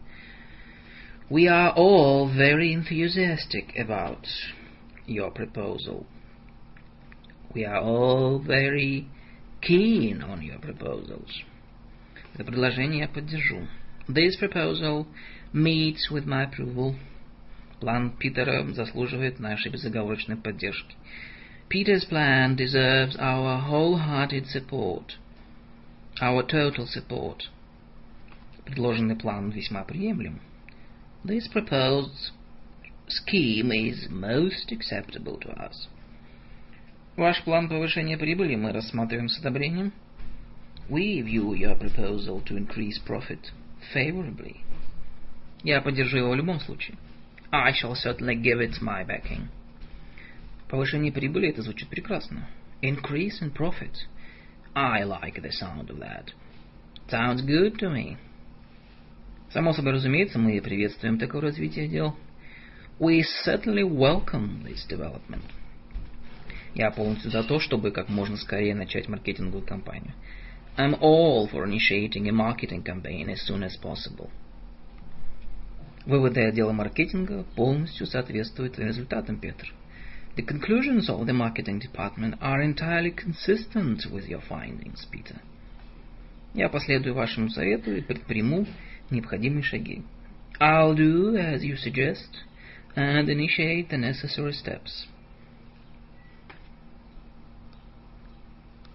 We are all very enthusiastic about your proposal. We are all very keen on your proposals. Это предложение я поддержу. This proposal meets with my approval. План Питера заслуживает нашей безоговорочной поддержки. Peter's plan deserves our wholehearted support. Our total support. Предложенный план весьма приемлем. This proposed scheme is most acceptable to us. Ваш план повышения прибыли мы рассматриваем с одобрением. We view your proposal to increase profit favorably. Я поддержу его в любом случае. I shall certainly give it my backing. Повышение прибыли, это звучит прекрасно. Increase in profit. I like the sound of that. Sounds good to me. Само собой разумеется, мы приветствуем такое развитие дел. We certainly welcome this development. Я полностью за то, чтобы как можно скорее начать маркетинговую кампанию. I'm all for initiating a marketing campaign as soon as possible. Выводы отдела маркетинга полностью соответствуют результатам, Петр. The conclusions of the marketing department are entirely consistent with your findings, Peter. Я последую вашему совету и предприму необходимые шаги. I'll do as you suggest and initiate the necessary steps.